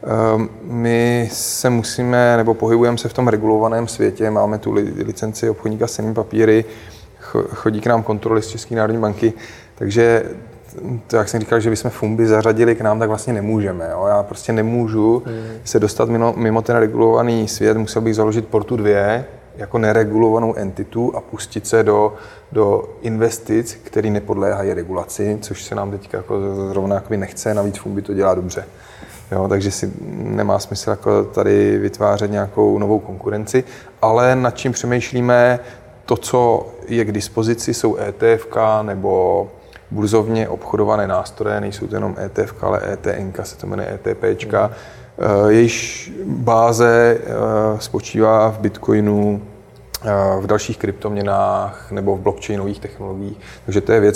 My se musíme, nebo pohybujeme se v tom regulovaném světě, máme tu licenci obchodníka s cennými papíry, chodí k nám kontroly z České národní banky, takže to, jak jsem říkal, že bychom funby zařadili k nám, tak vlastně nemůžeme. Jo? Já prostě nemůžu se dostat mimo ten regulovaný svět, musel bych založit Portu 2 jako neregulovanou entitu a pustit se do investic, které nepodléhají regulaci, což se nám teď jako zrovna nechce, navíc funby to dělá dobře. Jo, takže si nemá smysl jako tady vytvářet nějakou novou konkurenci, ale nad čím přemýšlíme, to, co je k dispozici, jsou ETFK nebo burzovně obchodované nástroje, nejsou to jenom ETFK, ale ETNK, se to jmenuje ETPčka. Jejíž báze spočívá v Bitcoinu, v dalších kryptoměnách nebo v blockchainových technologiích. Takže to je věc,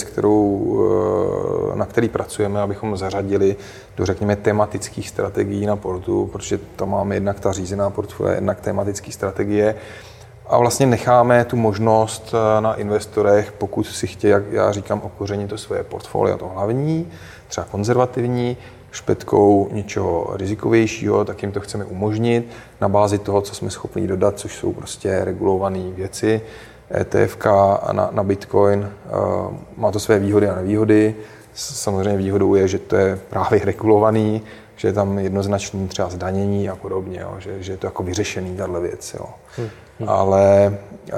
na který pracujeme, abychom zařadili do, řekněme, tematických strategií na portu, protože tam máme jednak ta řízená portfolia, jednak tematické strategie. A vlastně necháme tu možnost na investorech, pokud si chtějí, jak já říkám, okořenit to svoje portfolio, to hlavní, třeba konzervativní, špetkou něčeho rizikovějšího, tak jim to chceme umožnit na bázi toho, co jsme schopni dodat, což jsou prostě regulované věci. ETFK na Bitcoin má to své výhody a nevýhody. Samozřejmě výhodou je, že to je právě regulovaný, že je tam jednoznačný třeba zdanění a podobně, jo, že je to jako vyřešený tato věc. Jo. Ale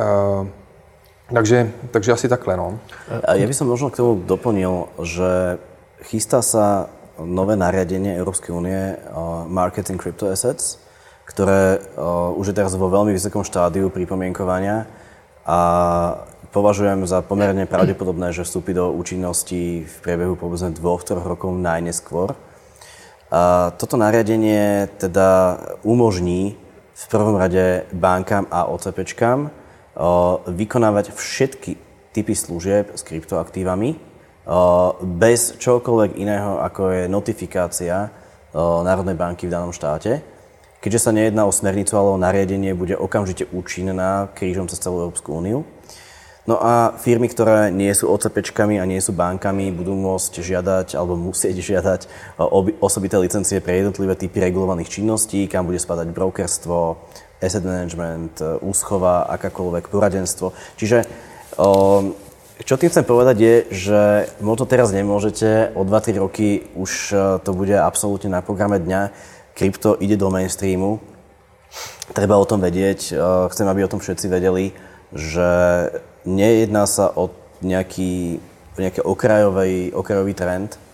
takže asi takhle. No. Ja by som možno k tomu doplnil, že chystá sa nové nariadenie Európskej únie Marketing Crypto Assets, ktoré už je teraz vo veľmi vysokom štádiu pripomienkovania a považujem za pomerne pravdepodobné, že vstúpi do účinnosti v priebehu povedzme 2-3 rokov najneskôr. A toto nariadenie teda umožní v prvom rade bankám a OCPčkám vykonávať všetky typy služieb s kryptoaktívami bez čokoľvek iného, ako je notifikácia Národnej banky v danom štáte. Keďže sa nejedná o smernicu, ale o nariadenie, bude okamžite účinná krížom cez celú Európsku úniu. No a firmy, ktoré nie sú OCPčkami a nie sú bankami, budú môcť žiadať alebo musieť žiadať osobité licencie pre jednotlivé typy regulovaných činností, kam bude spadať brokerstvo, asset management, úschova, akákoľvek poradenstvo. Čiže čo tým chcem povedať je, že možno teraz nemôžete, o 2-3 roky už to bude absolútne na programe dňa. Krypto ide do mainstreamu, treba o tom vedieť, chcem, aby o tom všetci vedeli, že nejedná sa o nejaký okrajový trend,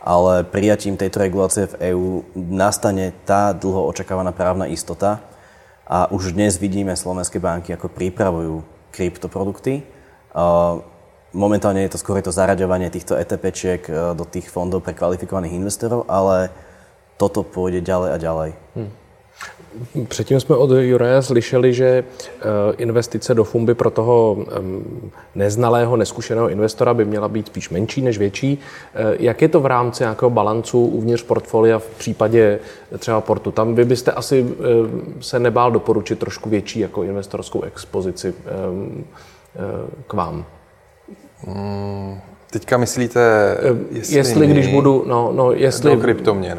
ale prijatím tejto regulácie v EÚ nastane tá dlho očakávaná právna istota a už dnes vidíme slovenské banky, ako pripravujú kryptoprodukty. Momentálne je to skôr to zaraďovanie týchto ETPčiek do tých fondov pre kvalifikovaných investorov, ale toto pôjde ďalej a ďalej. Předtím jsme od Juraje slyšeli, že investice do Fumby pro toho neznalého, neskušeného investora by měla být spíš menší než větší. Jak je to v rámci nějakého balancu uvnitř portfolia v případě třeba Portu? Tam vy byste asi se nebál doporučit trošku větší jako investorskou expozici k vám. Teďka myslíte, jestli když budu, jestli do kryptoměn.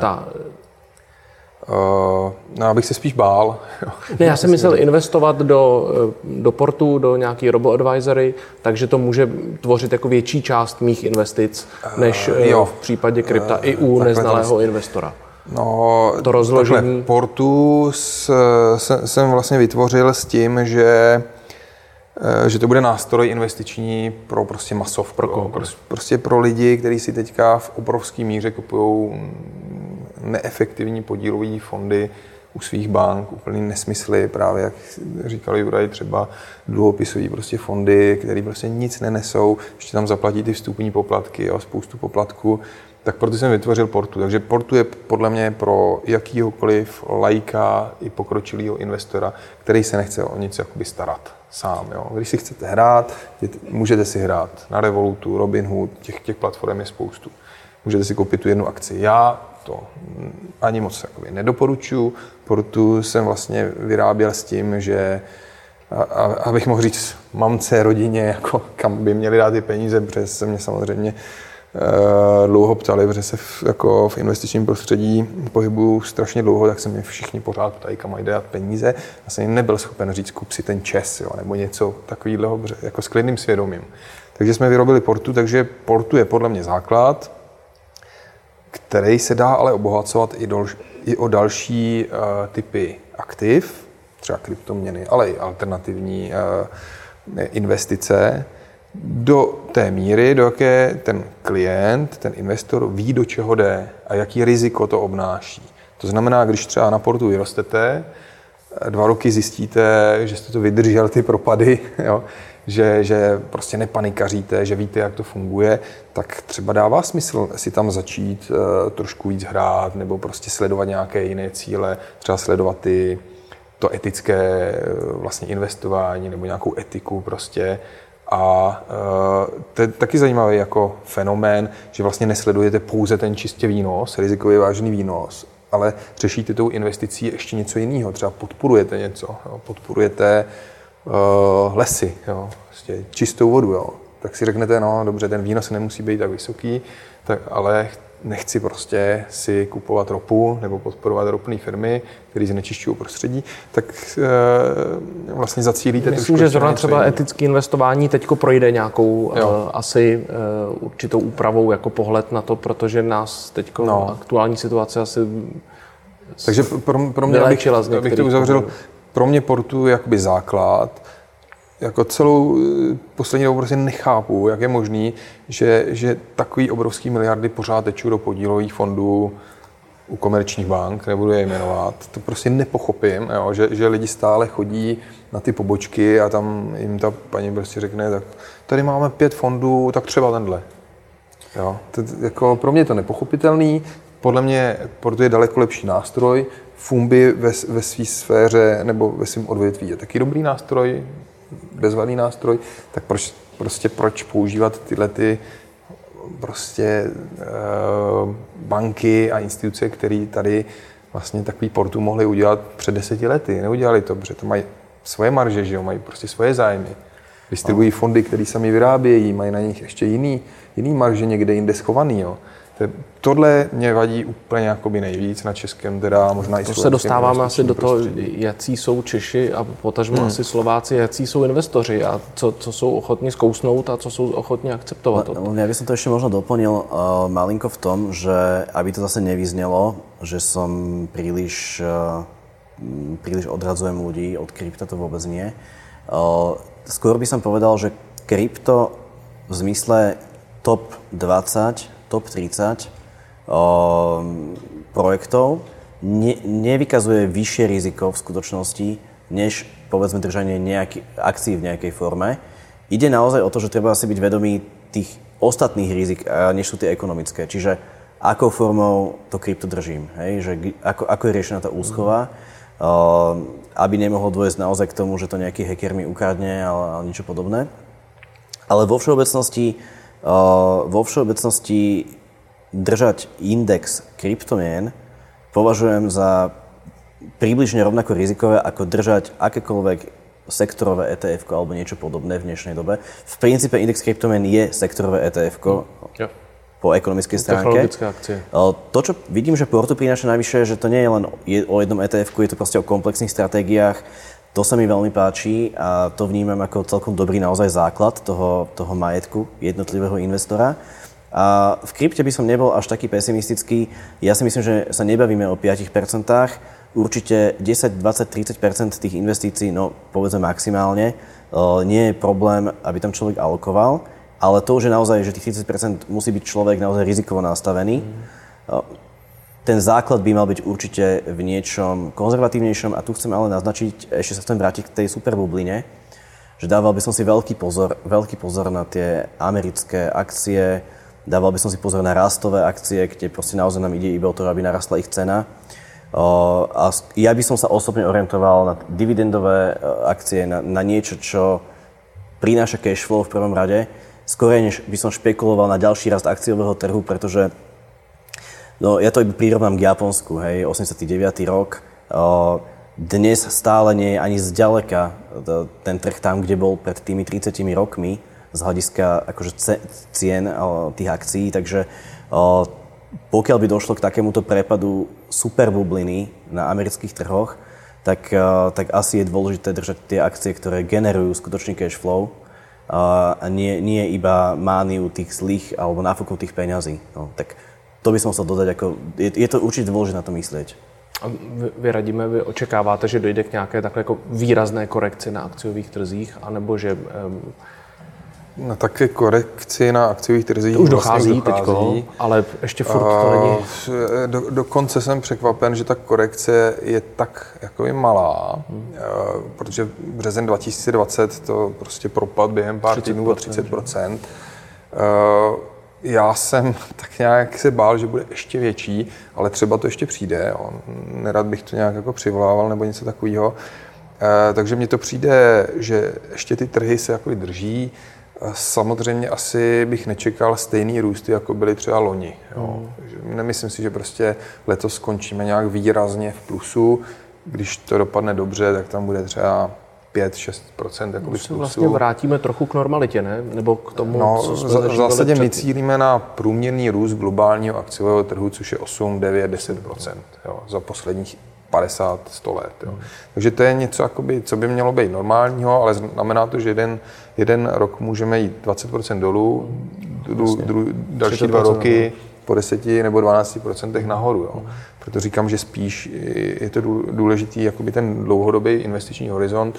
Abych se spíš bál. Ne, já jsem myslel investovat do Portu, do nějaký robo-advisory, takže to může tvořit jako větší část mých investic, než v případě krypta i u neznalého investora. No, to rozložení. Takhle, Portu jsem vlastně vytvořil s tím, že to bude nástroj investiční pro prostě masovku. Prostě pro lidi, kteří si teďka v obrovské míře kupují neefektivní podílové fondy u svých bank, úplný nesmysly, právě jak říkal Juraj, třeba dluhopisové prostě fondy, které prostě nic nenesou, ještě tam zaplatí ty vstupní poplatky a spoustu poplatků, tak proto jsem vytvořil Portu. Takže Portu je podle mě pro jakýhokoliv laika i pokročilého investora, který se nechce o nic jakoby starat sám. Jo. Když si chcete hrát, můžete si hrát na Revolutu, Robinhood, těch platform je spoustu. Můžete si koupit tu jednu akci. Já to ani moc nedoporučuji. Portu jsem vlastně vyráběl s tím, že abych mohl říct mamce, rodině, jako kam by měli dát ty peníze, protože se mě samozřejmě dlouho ptali, protože se v investičním prostředí pohybuju strašně dlouho, tak se mě všichni pořád ptají, kam mají dát peníze. Já jsem nebyl schopen říct, kup si ten ČES, jo, nebo něco takového, jako s klidným svědomím. Takže jsme vyrobili Portu, takže Portu je podle mě základ, který se dá ale obohacovat i o další typy aktiv, třeba kryptoměny, ale i alternativní investice, do té míry, do jaké ten klient, ten investor ví, do čeho jde a jaký riziko to obnáší. To znamená, když třeba na Portu vyrostete, 2 roky zjistíte, že jste to vydržel, ty propady, jo, že prostě nepanikaříte, že víte, jak to funguje, tak třeba dává smysl si tam začít trošku víc hrát nebo prostě sledovat nějaké jiné cíle, třeba sledovat to etické vlastně investování nebo nějakou etiku prostě. A to je taky zajímavý jako fenomén, že vlastně nesledujete pouze ten čistě výnos, rizikově vážný výnos, ale řešíte tou investicí ještě něco jiného. Třeba podporujete něco, jo, podporujete lesy, jo, prostě čistou vodu. Jo. Tak si řeknete, no dobře, ten výnos nemusí být tak vysoký, ale nechci prostě si kupovat ropu nebo podporovat ropné firmy, které znečišťují prostředí, tak vlastně zacílíte... Myslím, že zrovna třeba etické investování teďko projde nějakou asi určitou úpravou jako pohled na to, protože nás teďko aktuální situace asi takže pro mě, abych to uzavřel, pro mě Portu je jakoby základ. Jako celou poslední dobu prostě nechápu, jak je možný, že takový obrovský miliardy pořád tečou do podílových fondů u komerčních bank, nebudu je jmenovat. To prostě nepochopím, jo, že lidi stále chodí na ty pobočky a tam jim ta paní prostě řekne, tak tady máme 5 fondů, tak třeba tenhle. Jo, jako pro mě je to nepochopitelný. Podle mě Portu je daleko lepší nástroj. Fumby ve své sféře nebo ve svém odvětví je taky dobrý nástroj, bezvadný nástroj, tak proč používat tyhle prostě banky a instituce, které tady vlastně takový Portu mohly udělat před 10 lety. Neudělali to, protože to mají svoje marže, že jo? Mají prostě svoje zájmy. Distribuují fondy, které sami vyrábějí, mají na nich ještě jiný marže někde jinde schovaný. Jo? Tohle mě vadí úplně jakoby nejvíc na českém, teda možná i to se dostáváme asi do toho, jací jsou Češi a potažmo asi Slováci, jací jsou investoři a co jsou ochotní zkousnout a co jsou ochotní akceptovat. Ja by som to ešte možno doplnil malinko v tom, že aby to zase nevyznelo, že som príliš odradzujem ľudí od krypta, to vôbec nie. Skôr by som povedal, že krypto v zmysle top 20, top 30 projektov nevykazuje vyššie riziko v skutočnosti, než povedzme držanie akcií v nejakej forme. Ide naozaj o to, že treba si byť vedomý tých ostatných rizik, než sú tie ekonomické. Čiže akou formou to krypto držím, hej? Že ako je riešená tá úschova, aby nemohlo dôjsť naozaj k tomu, že to nejaký hacker mi ukradne ale niečo podobné. Ale vo všeobecnosti držať index kryptomien považujem za približne rovnako rizikové, ako držať akékoľvek sektorové ETF alebo niečo podobné v dnešnej dobe. V princípe index kryptomien je sektorové ETF po ekonomickej stránke. Technologické akcie. To, čo vidím, že Portu prináša navyše, že to nie je len o jednom ETF-ku, je to proste o komplexných stratégiách. To sa mi veľmi páči a to vnímam ako celkom dobrý naozaj základ toho majetku jednotlivého investora. A v krypte by som nebol až taký pesimistický. Ja si myslím, že sa nebavíme o 5%. Určite 10, 20, 30% tých investícií, no povedzme maximálne, nie je problém, aby tam človek alokoval, ale to už je naozaj, že tých 30% musí byť človek naozaj rizikovo nastavený. Ten základ by mal byť určite v niečom konzervatívnejšom a tu chcem ale naznačiť, ešte sa chcem vrátiť k tej superbubline, že dával by som si veľký pozor na tie americké akcie, dával by som si pozor na rastové akcie, kde proste naozaj nám ide iba o to, aby narastla ich cena. A ja by som sa osobne orientoval na dividendové akcie, na niečo, čo prináša cash flow v prvom rade, skôr než by som špekuloval na ďalší rast akciového trhu, pretože ja to iba prirovnám k Japonsku, hej, 89. rok. Dnes stále nie je ani zďaleka ten trh tam, kde bol pred tými 30 rokmi z hľadiska akože cien tých akcií, takže pokiaľ by došlo k takémuto prepadu superbubliny na amerických trhoch, tak asi je dôležité držať tie akcie, ktoré generujú skutočný cash flow a nie iba mániu tých zlých alebo nafúknutých peňazí. No, tak to by som chcel dodať, ako je to určite dôležité na to myslieť. A vy očekáváte, že dojde k nějaké takové jako výrazné korekci na akciových trzích, anebo že na také korekci na akciových trzích už dochází teďko, ale ještě furt to není. Dokonce jsem překvapen, že ta korekce je tak jakoby malá, protože březen 2020 to prostě propad během pár týdnů o 30%. Já jsem tak nějak se bál, že bude ještě větší, ale třeba to ještě přijde. Nerad bych to nějak jako přivolával nebo něco takového. Takže mně to přijde, že ještě ty trhy se jako drží. Samozřejmě asi bych nečekal stejný růsty, jako byly třeba loni. Nemyslím si, že prostě letos skončíme nějak výrazně v plusu. Když to dopadne dobře, tak tam bude třeba 5-6% jakoby v plusu. Vlastně vrátíme trochu k normalitě, ne? Nebo k tomu, co jsme v zásadě my cílíme na průměrný růst globálního akciového trhu, což je 8, 9, 10% za posledních 50-100 let. Takže to je něco, jakoby, co by mělo být normálního, ale znamená to, že jeden rok můžeme jít 20% dolů, další 2 roky po 10 nebo 12% nahoru. Proto říkám, že spíš je to důležitý jakoby ten dlouhodobý investiční horizont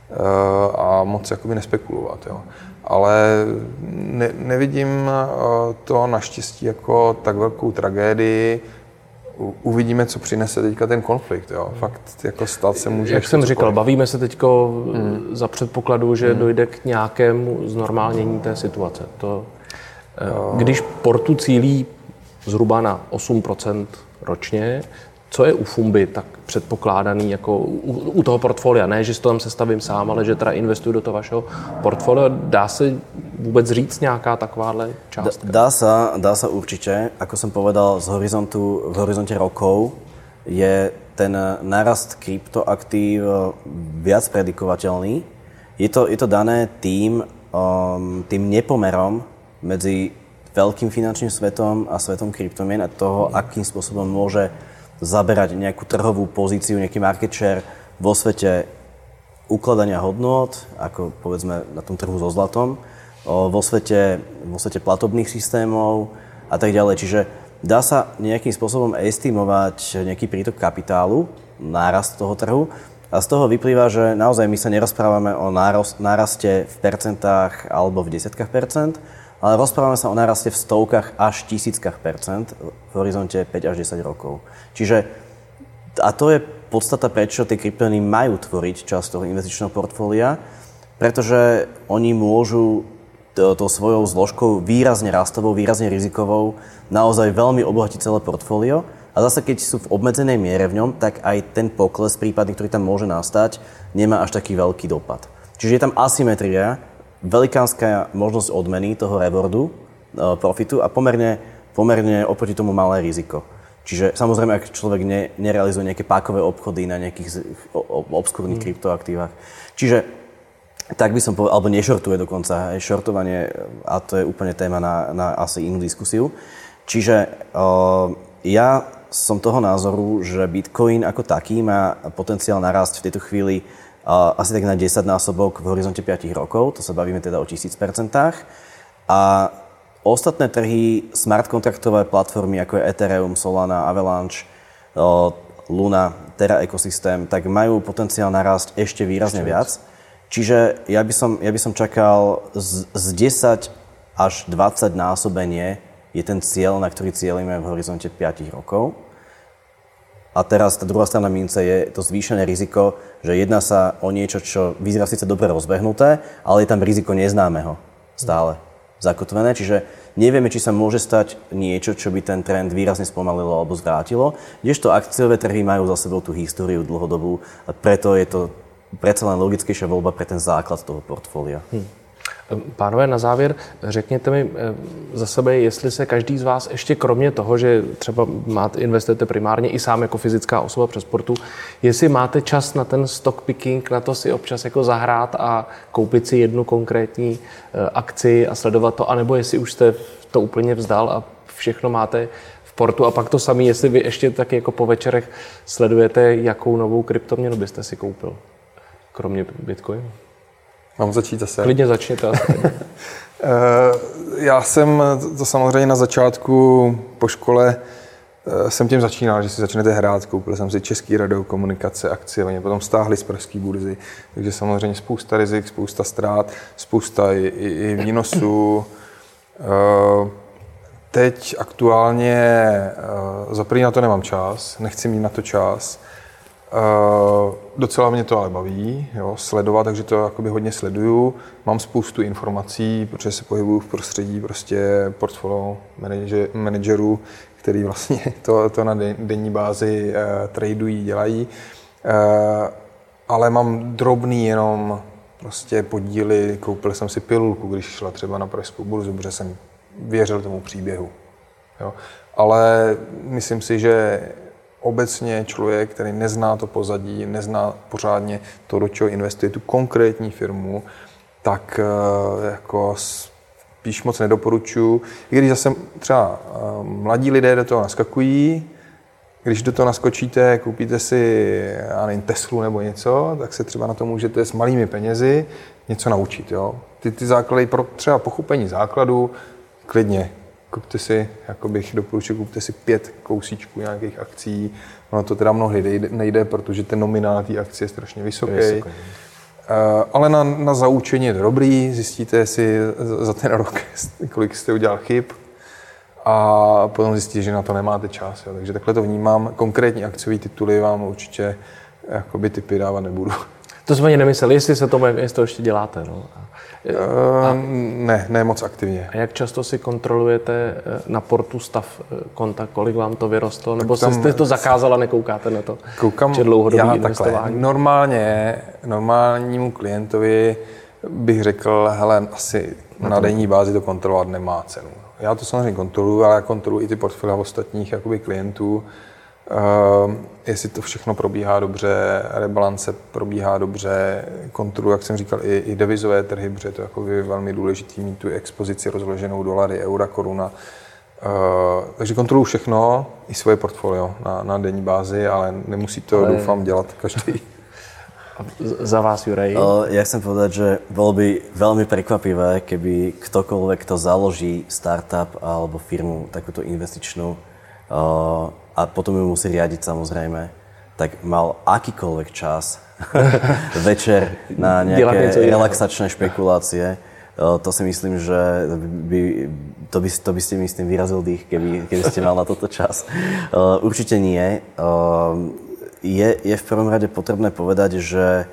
a moc jakoby nespekulovat. Ale nevidím to naštěstí jako tak velkou tragédii. Uvidíme, co přinese teďka ten konflikt. Fakt jako stát se může... Jak jsem říkal, bavíme se teďko za předpokladu, že dojde k nějakému znormálnění té situace. Když Portu cílí zhruba na 8% ročně, co je u Fumby tak předpokládaný jako u toho portfolia? Ne, že si to tam sestavím sám, ale že teda investuju do toho vašeho portfolia. Dá se vůbec říct nějaká takováhle částka? Dá sa určite. Ako som povedal, v horizonte rokov je ten nárast kryptoaktív viac predikovateľný. Je to dané tým nepomerom medzi veľkým finančným svetom a svetom kryptomien a toho, akým spôsobom môže zaberať nejakú trhovú pozíciu, nejaký market share vo svete ukladania hodnôt, ako povedzme na tom trhu so zlatom, vo svete platobných systémov a tak ďalej. Čiže dá sa nejakým spôsobom estimovať nejaký prítok kapitálu, nárast toho trhu a z toho vyplýva, že naozaj my sa nerozprávame o náraste v percentách alebo v desiatkách percent, ale rozprávame sa o náraste v stovkách až tisíckach percent v horizonte 5 až 10 rokov. Čiže, a to je podstata, prečo tie kryptomeny majú tvoriť časť toho investičného portfólia, pretože oni môžu tou svojou zložkou výrazne rastovou, výrazne rizikovou naozaj veľmi obohatiť celé portfólio. A zase, keď sú v obmedzenej miere v ňom, tak aj ten pokles prípadný, ktorý tam môže nastať, nemá až taký veľký dopad. Čiže je tam asymetria, velikánska možnosť odmeny toho rewardu, profitu a pomerne oproti tomu malé riziko. Čiže samozrejme, ak človek nerealizuje nejaké pákové obchody na nejakých obskúrnych kryptoaktívach. Čiže tak by som povedal, alebo nešortuje dokonca, aj šortovanie, a to je úplne téma na asi inú diskusiu. Čiže ja som toho názoru, že Bitcoin ako taký má potenciál narásť v tejto chvíli asi tak na 10-násobok v horizonte 5 rokov, to sa bavíme teda o 1000%. A ostatné trhy, smart kontraktové platformy, ako je Ethereum, Solana, Avalanche, Luna, Terra ekosystém, tak majú potenciál narásť ešte výrazne viac. Čiže ja by som čakal z 10 až 20 násobenie je ten cieľ, na ktorý cieľime v horizonte 5 rokov. A teraz tá druhá strana mince je to zvýšené riziko, že jedná sa o niečo, čo vyzerá síce dobre rozbehnuté, ale je tam riziko neznámeho stále zakotvené. Čiže nevieme, či sa môže stať niečo, čo by ten trend výrazne spomalilo alebo zvrátilo. Kdežto akciové trhy majú za sebou tú históriu dlhodobú a preto je to predsa len logickejšia voľba pre ten základ toho portfólia. Pánové, na závěr řekněte mi za sebe, jestli se každý z vás ještě kromě toho, že třeba investujete primárně i sám jako fyzická osoba přes Portu, jestli máte čas na ten stock picking, na to si občas jako zahrát a koupit si jednu konkrétní akci a sledovat to, anebo jestli už jste to úplně vzdal a všechno máte v Portu a pak to samé, jestli vy ještě taky jako po večerech sledujete, jakou novou kryptoměnu byste si koupil, kromě Bitcoinu. Mám začít zase? Klidně začněte. Já jsem to samozřejmě na začátku po škole jsem tím začínal, že si začnete hrát. Koupil jsem si Český radiokomunikace akcie, oni potom stáhli z pražské burzy, takže samozřejmě spousta rizik, spousta ztrát, spousta i výnosů. Teď aktuálně za první na to nemám čas, nechci mít na to čas. Docela mě to ale baví, jo, sledovat, takže to jakoby hodně sleduju. Mám spoustu informací, protože se pohybuju v prostředí prostě portfolio manažerů, který vlastně to na denní bázi tradují, dělají. Ale mám drobný jenom prostě podíly, koupil jsem si pilulku, když šla třeba na pražskou burzu, protože jsem věřil tomu příběhu. Jo. Ale myslím si, že obecně člověk, který nezná to pozadí, nezná pořádně to, do čeho investuje tu konkrétní firmu, tak jako spíš moc nedoporučuji. I když zase třeba mladí lidé do toho naskakují, když do toho naskočíte, koupíte si, já nevím, Teslu nebo něco, tak se třeba na to můžete s malými penězi něco naučit. Jo? Ty základy, pro třeba pochopení základu, klidně. Kupte si, jako bych doporučil, kupte si 5 kousíčků nějakých akcí. Ono to teda mnohdy nejde, protože ten nominál té akcie je strašně vysoký. Ale na zaučení je to dobrý, zjistíte si za ten rok, kolik jste udělal chyb a potom zjistíte, že na to nemáte čas. Jo. Takže takhle to vnímám. Konkrétní akciové tituly vám určitě jakoby tipy dávat nebudu. To jsme ani nemysleli, jestli to ještě děláte. No. Ne moc aktivně. A jak často si kontrolujete na Portu stav konta, kolik vám to vyrostlo? Nebo jste to zakázala, nekoukáte na to? Koukám já investování? Normálnímu klientovi bych řekl, hele, asi na denní bázi to kontrolovat nemá cenu. Já to samozřejmě kontroluji, ale já kontroluji i ty portfolia ostatních jakoby klientů. Jestli to všechno probíhá dobře, rebalance probíhá dobře, kontroluji, jak jsem říkal, i devizové trhy, protože je to jako velmi důležitý mít tu expozici rozloženou dolary, eura, koruna. Takže kontroluji všechno, i svoje portfolio na denní bázi, ale nemusí to, doufám, dělat každý. Za vás, Juraj? Ja chcem povedať, že bolo by veľmi prekvapivé, keby ktokoľvek, kto založí startup alebo firmu takúto investičnú a potom ju musí riadiť samozrejme, tak mal akýkoľvek čas večer na nejaké relaxačné špekulácie To si myslím, že to by ste mi s tým vyrazil dých, keby ste mal na toto čas. Určite nie. Je v prvom rade potrebné povedať, že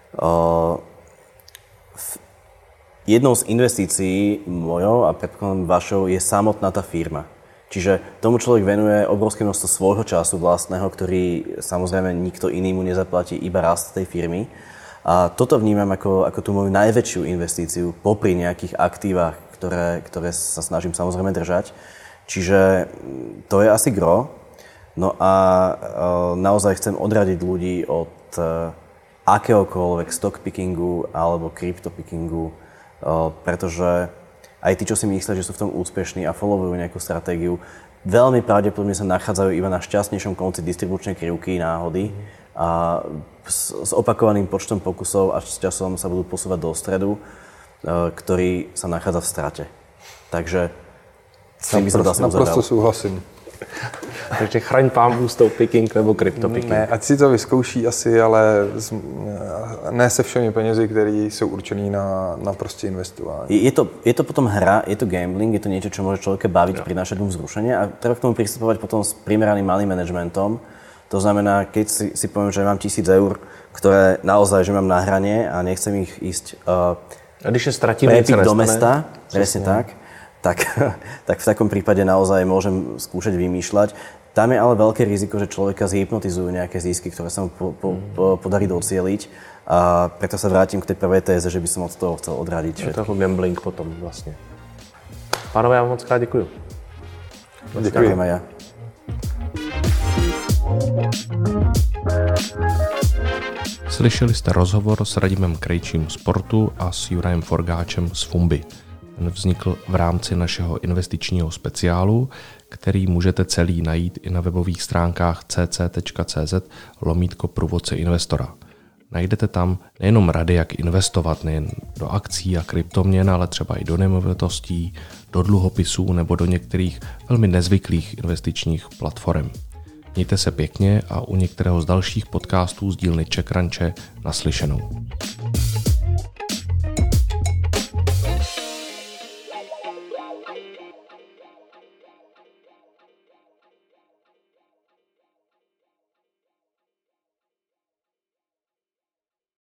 jednou z investícií mojou a predpokladám vašou je samotná tá firma. Čiže tomu človek venuje obrovské množstvo svojho času vlastného, ktorý samozrejme nikto iný mu nezaplatí, iba rast tej firmy. A toto vnímam ako tú moju najväčšiu investíciu popri nejakých aktívach, ktoré sa snažím samozrejme držať. Čiže to je asi gro. No a naozaj chcem odradiť ľudí od akéhokoľvek stock pickingu alebo crypto pickingu, pretože aj tí, čo si myslia, že sú v tom úspešní a followujú nejakú stratégiu, veľmi pravdepodobne sa nachádzajú iba na šťastnejšom konci distribučnej krivky náhody a s opakovaným počtom pokusov až s časom sa budú posúvať do stredu, ktorý sa nachádza v strate. Takže s tým by som to asi uzavral. Naprosto súhlasím. Takže chraň pánbůh stock picking nebo crypto picking. Ne, ať si to vyzkouší asi, ale ne se všemi penězi, které jsou určený na prostě investování. Je to potom hra, je to gambling, je to niečo, čo môže človeka baviť, prinášať mu vzrušenie a treba k tomu pristupovať potom s primeraným malým managementom. To znamená, keď si poviem, že mám 1000 eur, ktoré naozaj, že mám na hranie a nechcem ich ísť prepiť do mesta, presne tak v takom prípade naozaj môžem skúšať vymýšľať. Tam je ale veľké riziko, že človeka zhypnotizujú nejaké zisky, ktoré sa mu podarí docieliť. A preto sa vrátim k tej prvej téze, že by som od toho chcel odradiť všetky. Je to jako gambling potom vlastně. Pánové, já vám moc krát děkuju. Ďakujem aj ja. Slyšeli jste rozhovor s Radimem Krejčím z Portu a s Jurajem Forgáčem z Fumby. Ten vznikl v rámci našeho investičního speciálu, který můžete celý najít i na webových stránkách cc.cz/průvodce investora. Najdete tam nejenom rady, jak investovat nejen do akcí a kryptoměn, ale třeba i do nemovitostí, do dluhopisů nebo do některých velmi nezvyklých investičních platform. Mějte se pěkně a u některého z dalších podcastů z dílny CzechCrunche naslyšenou.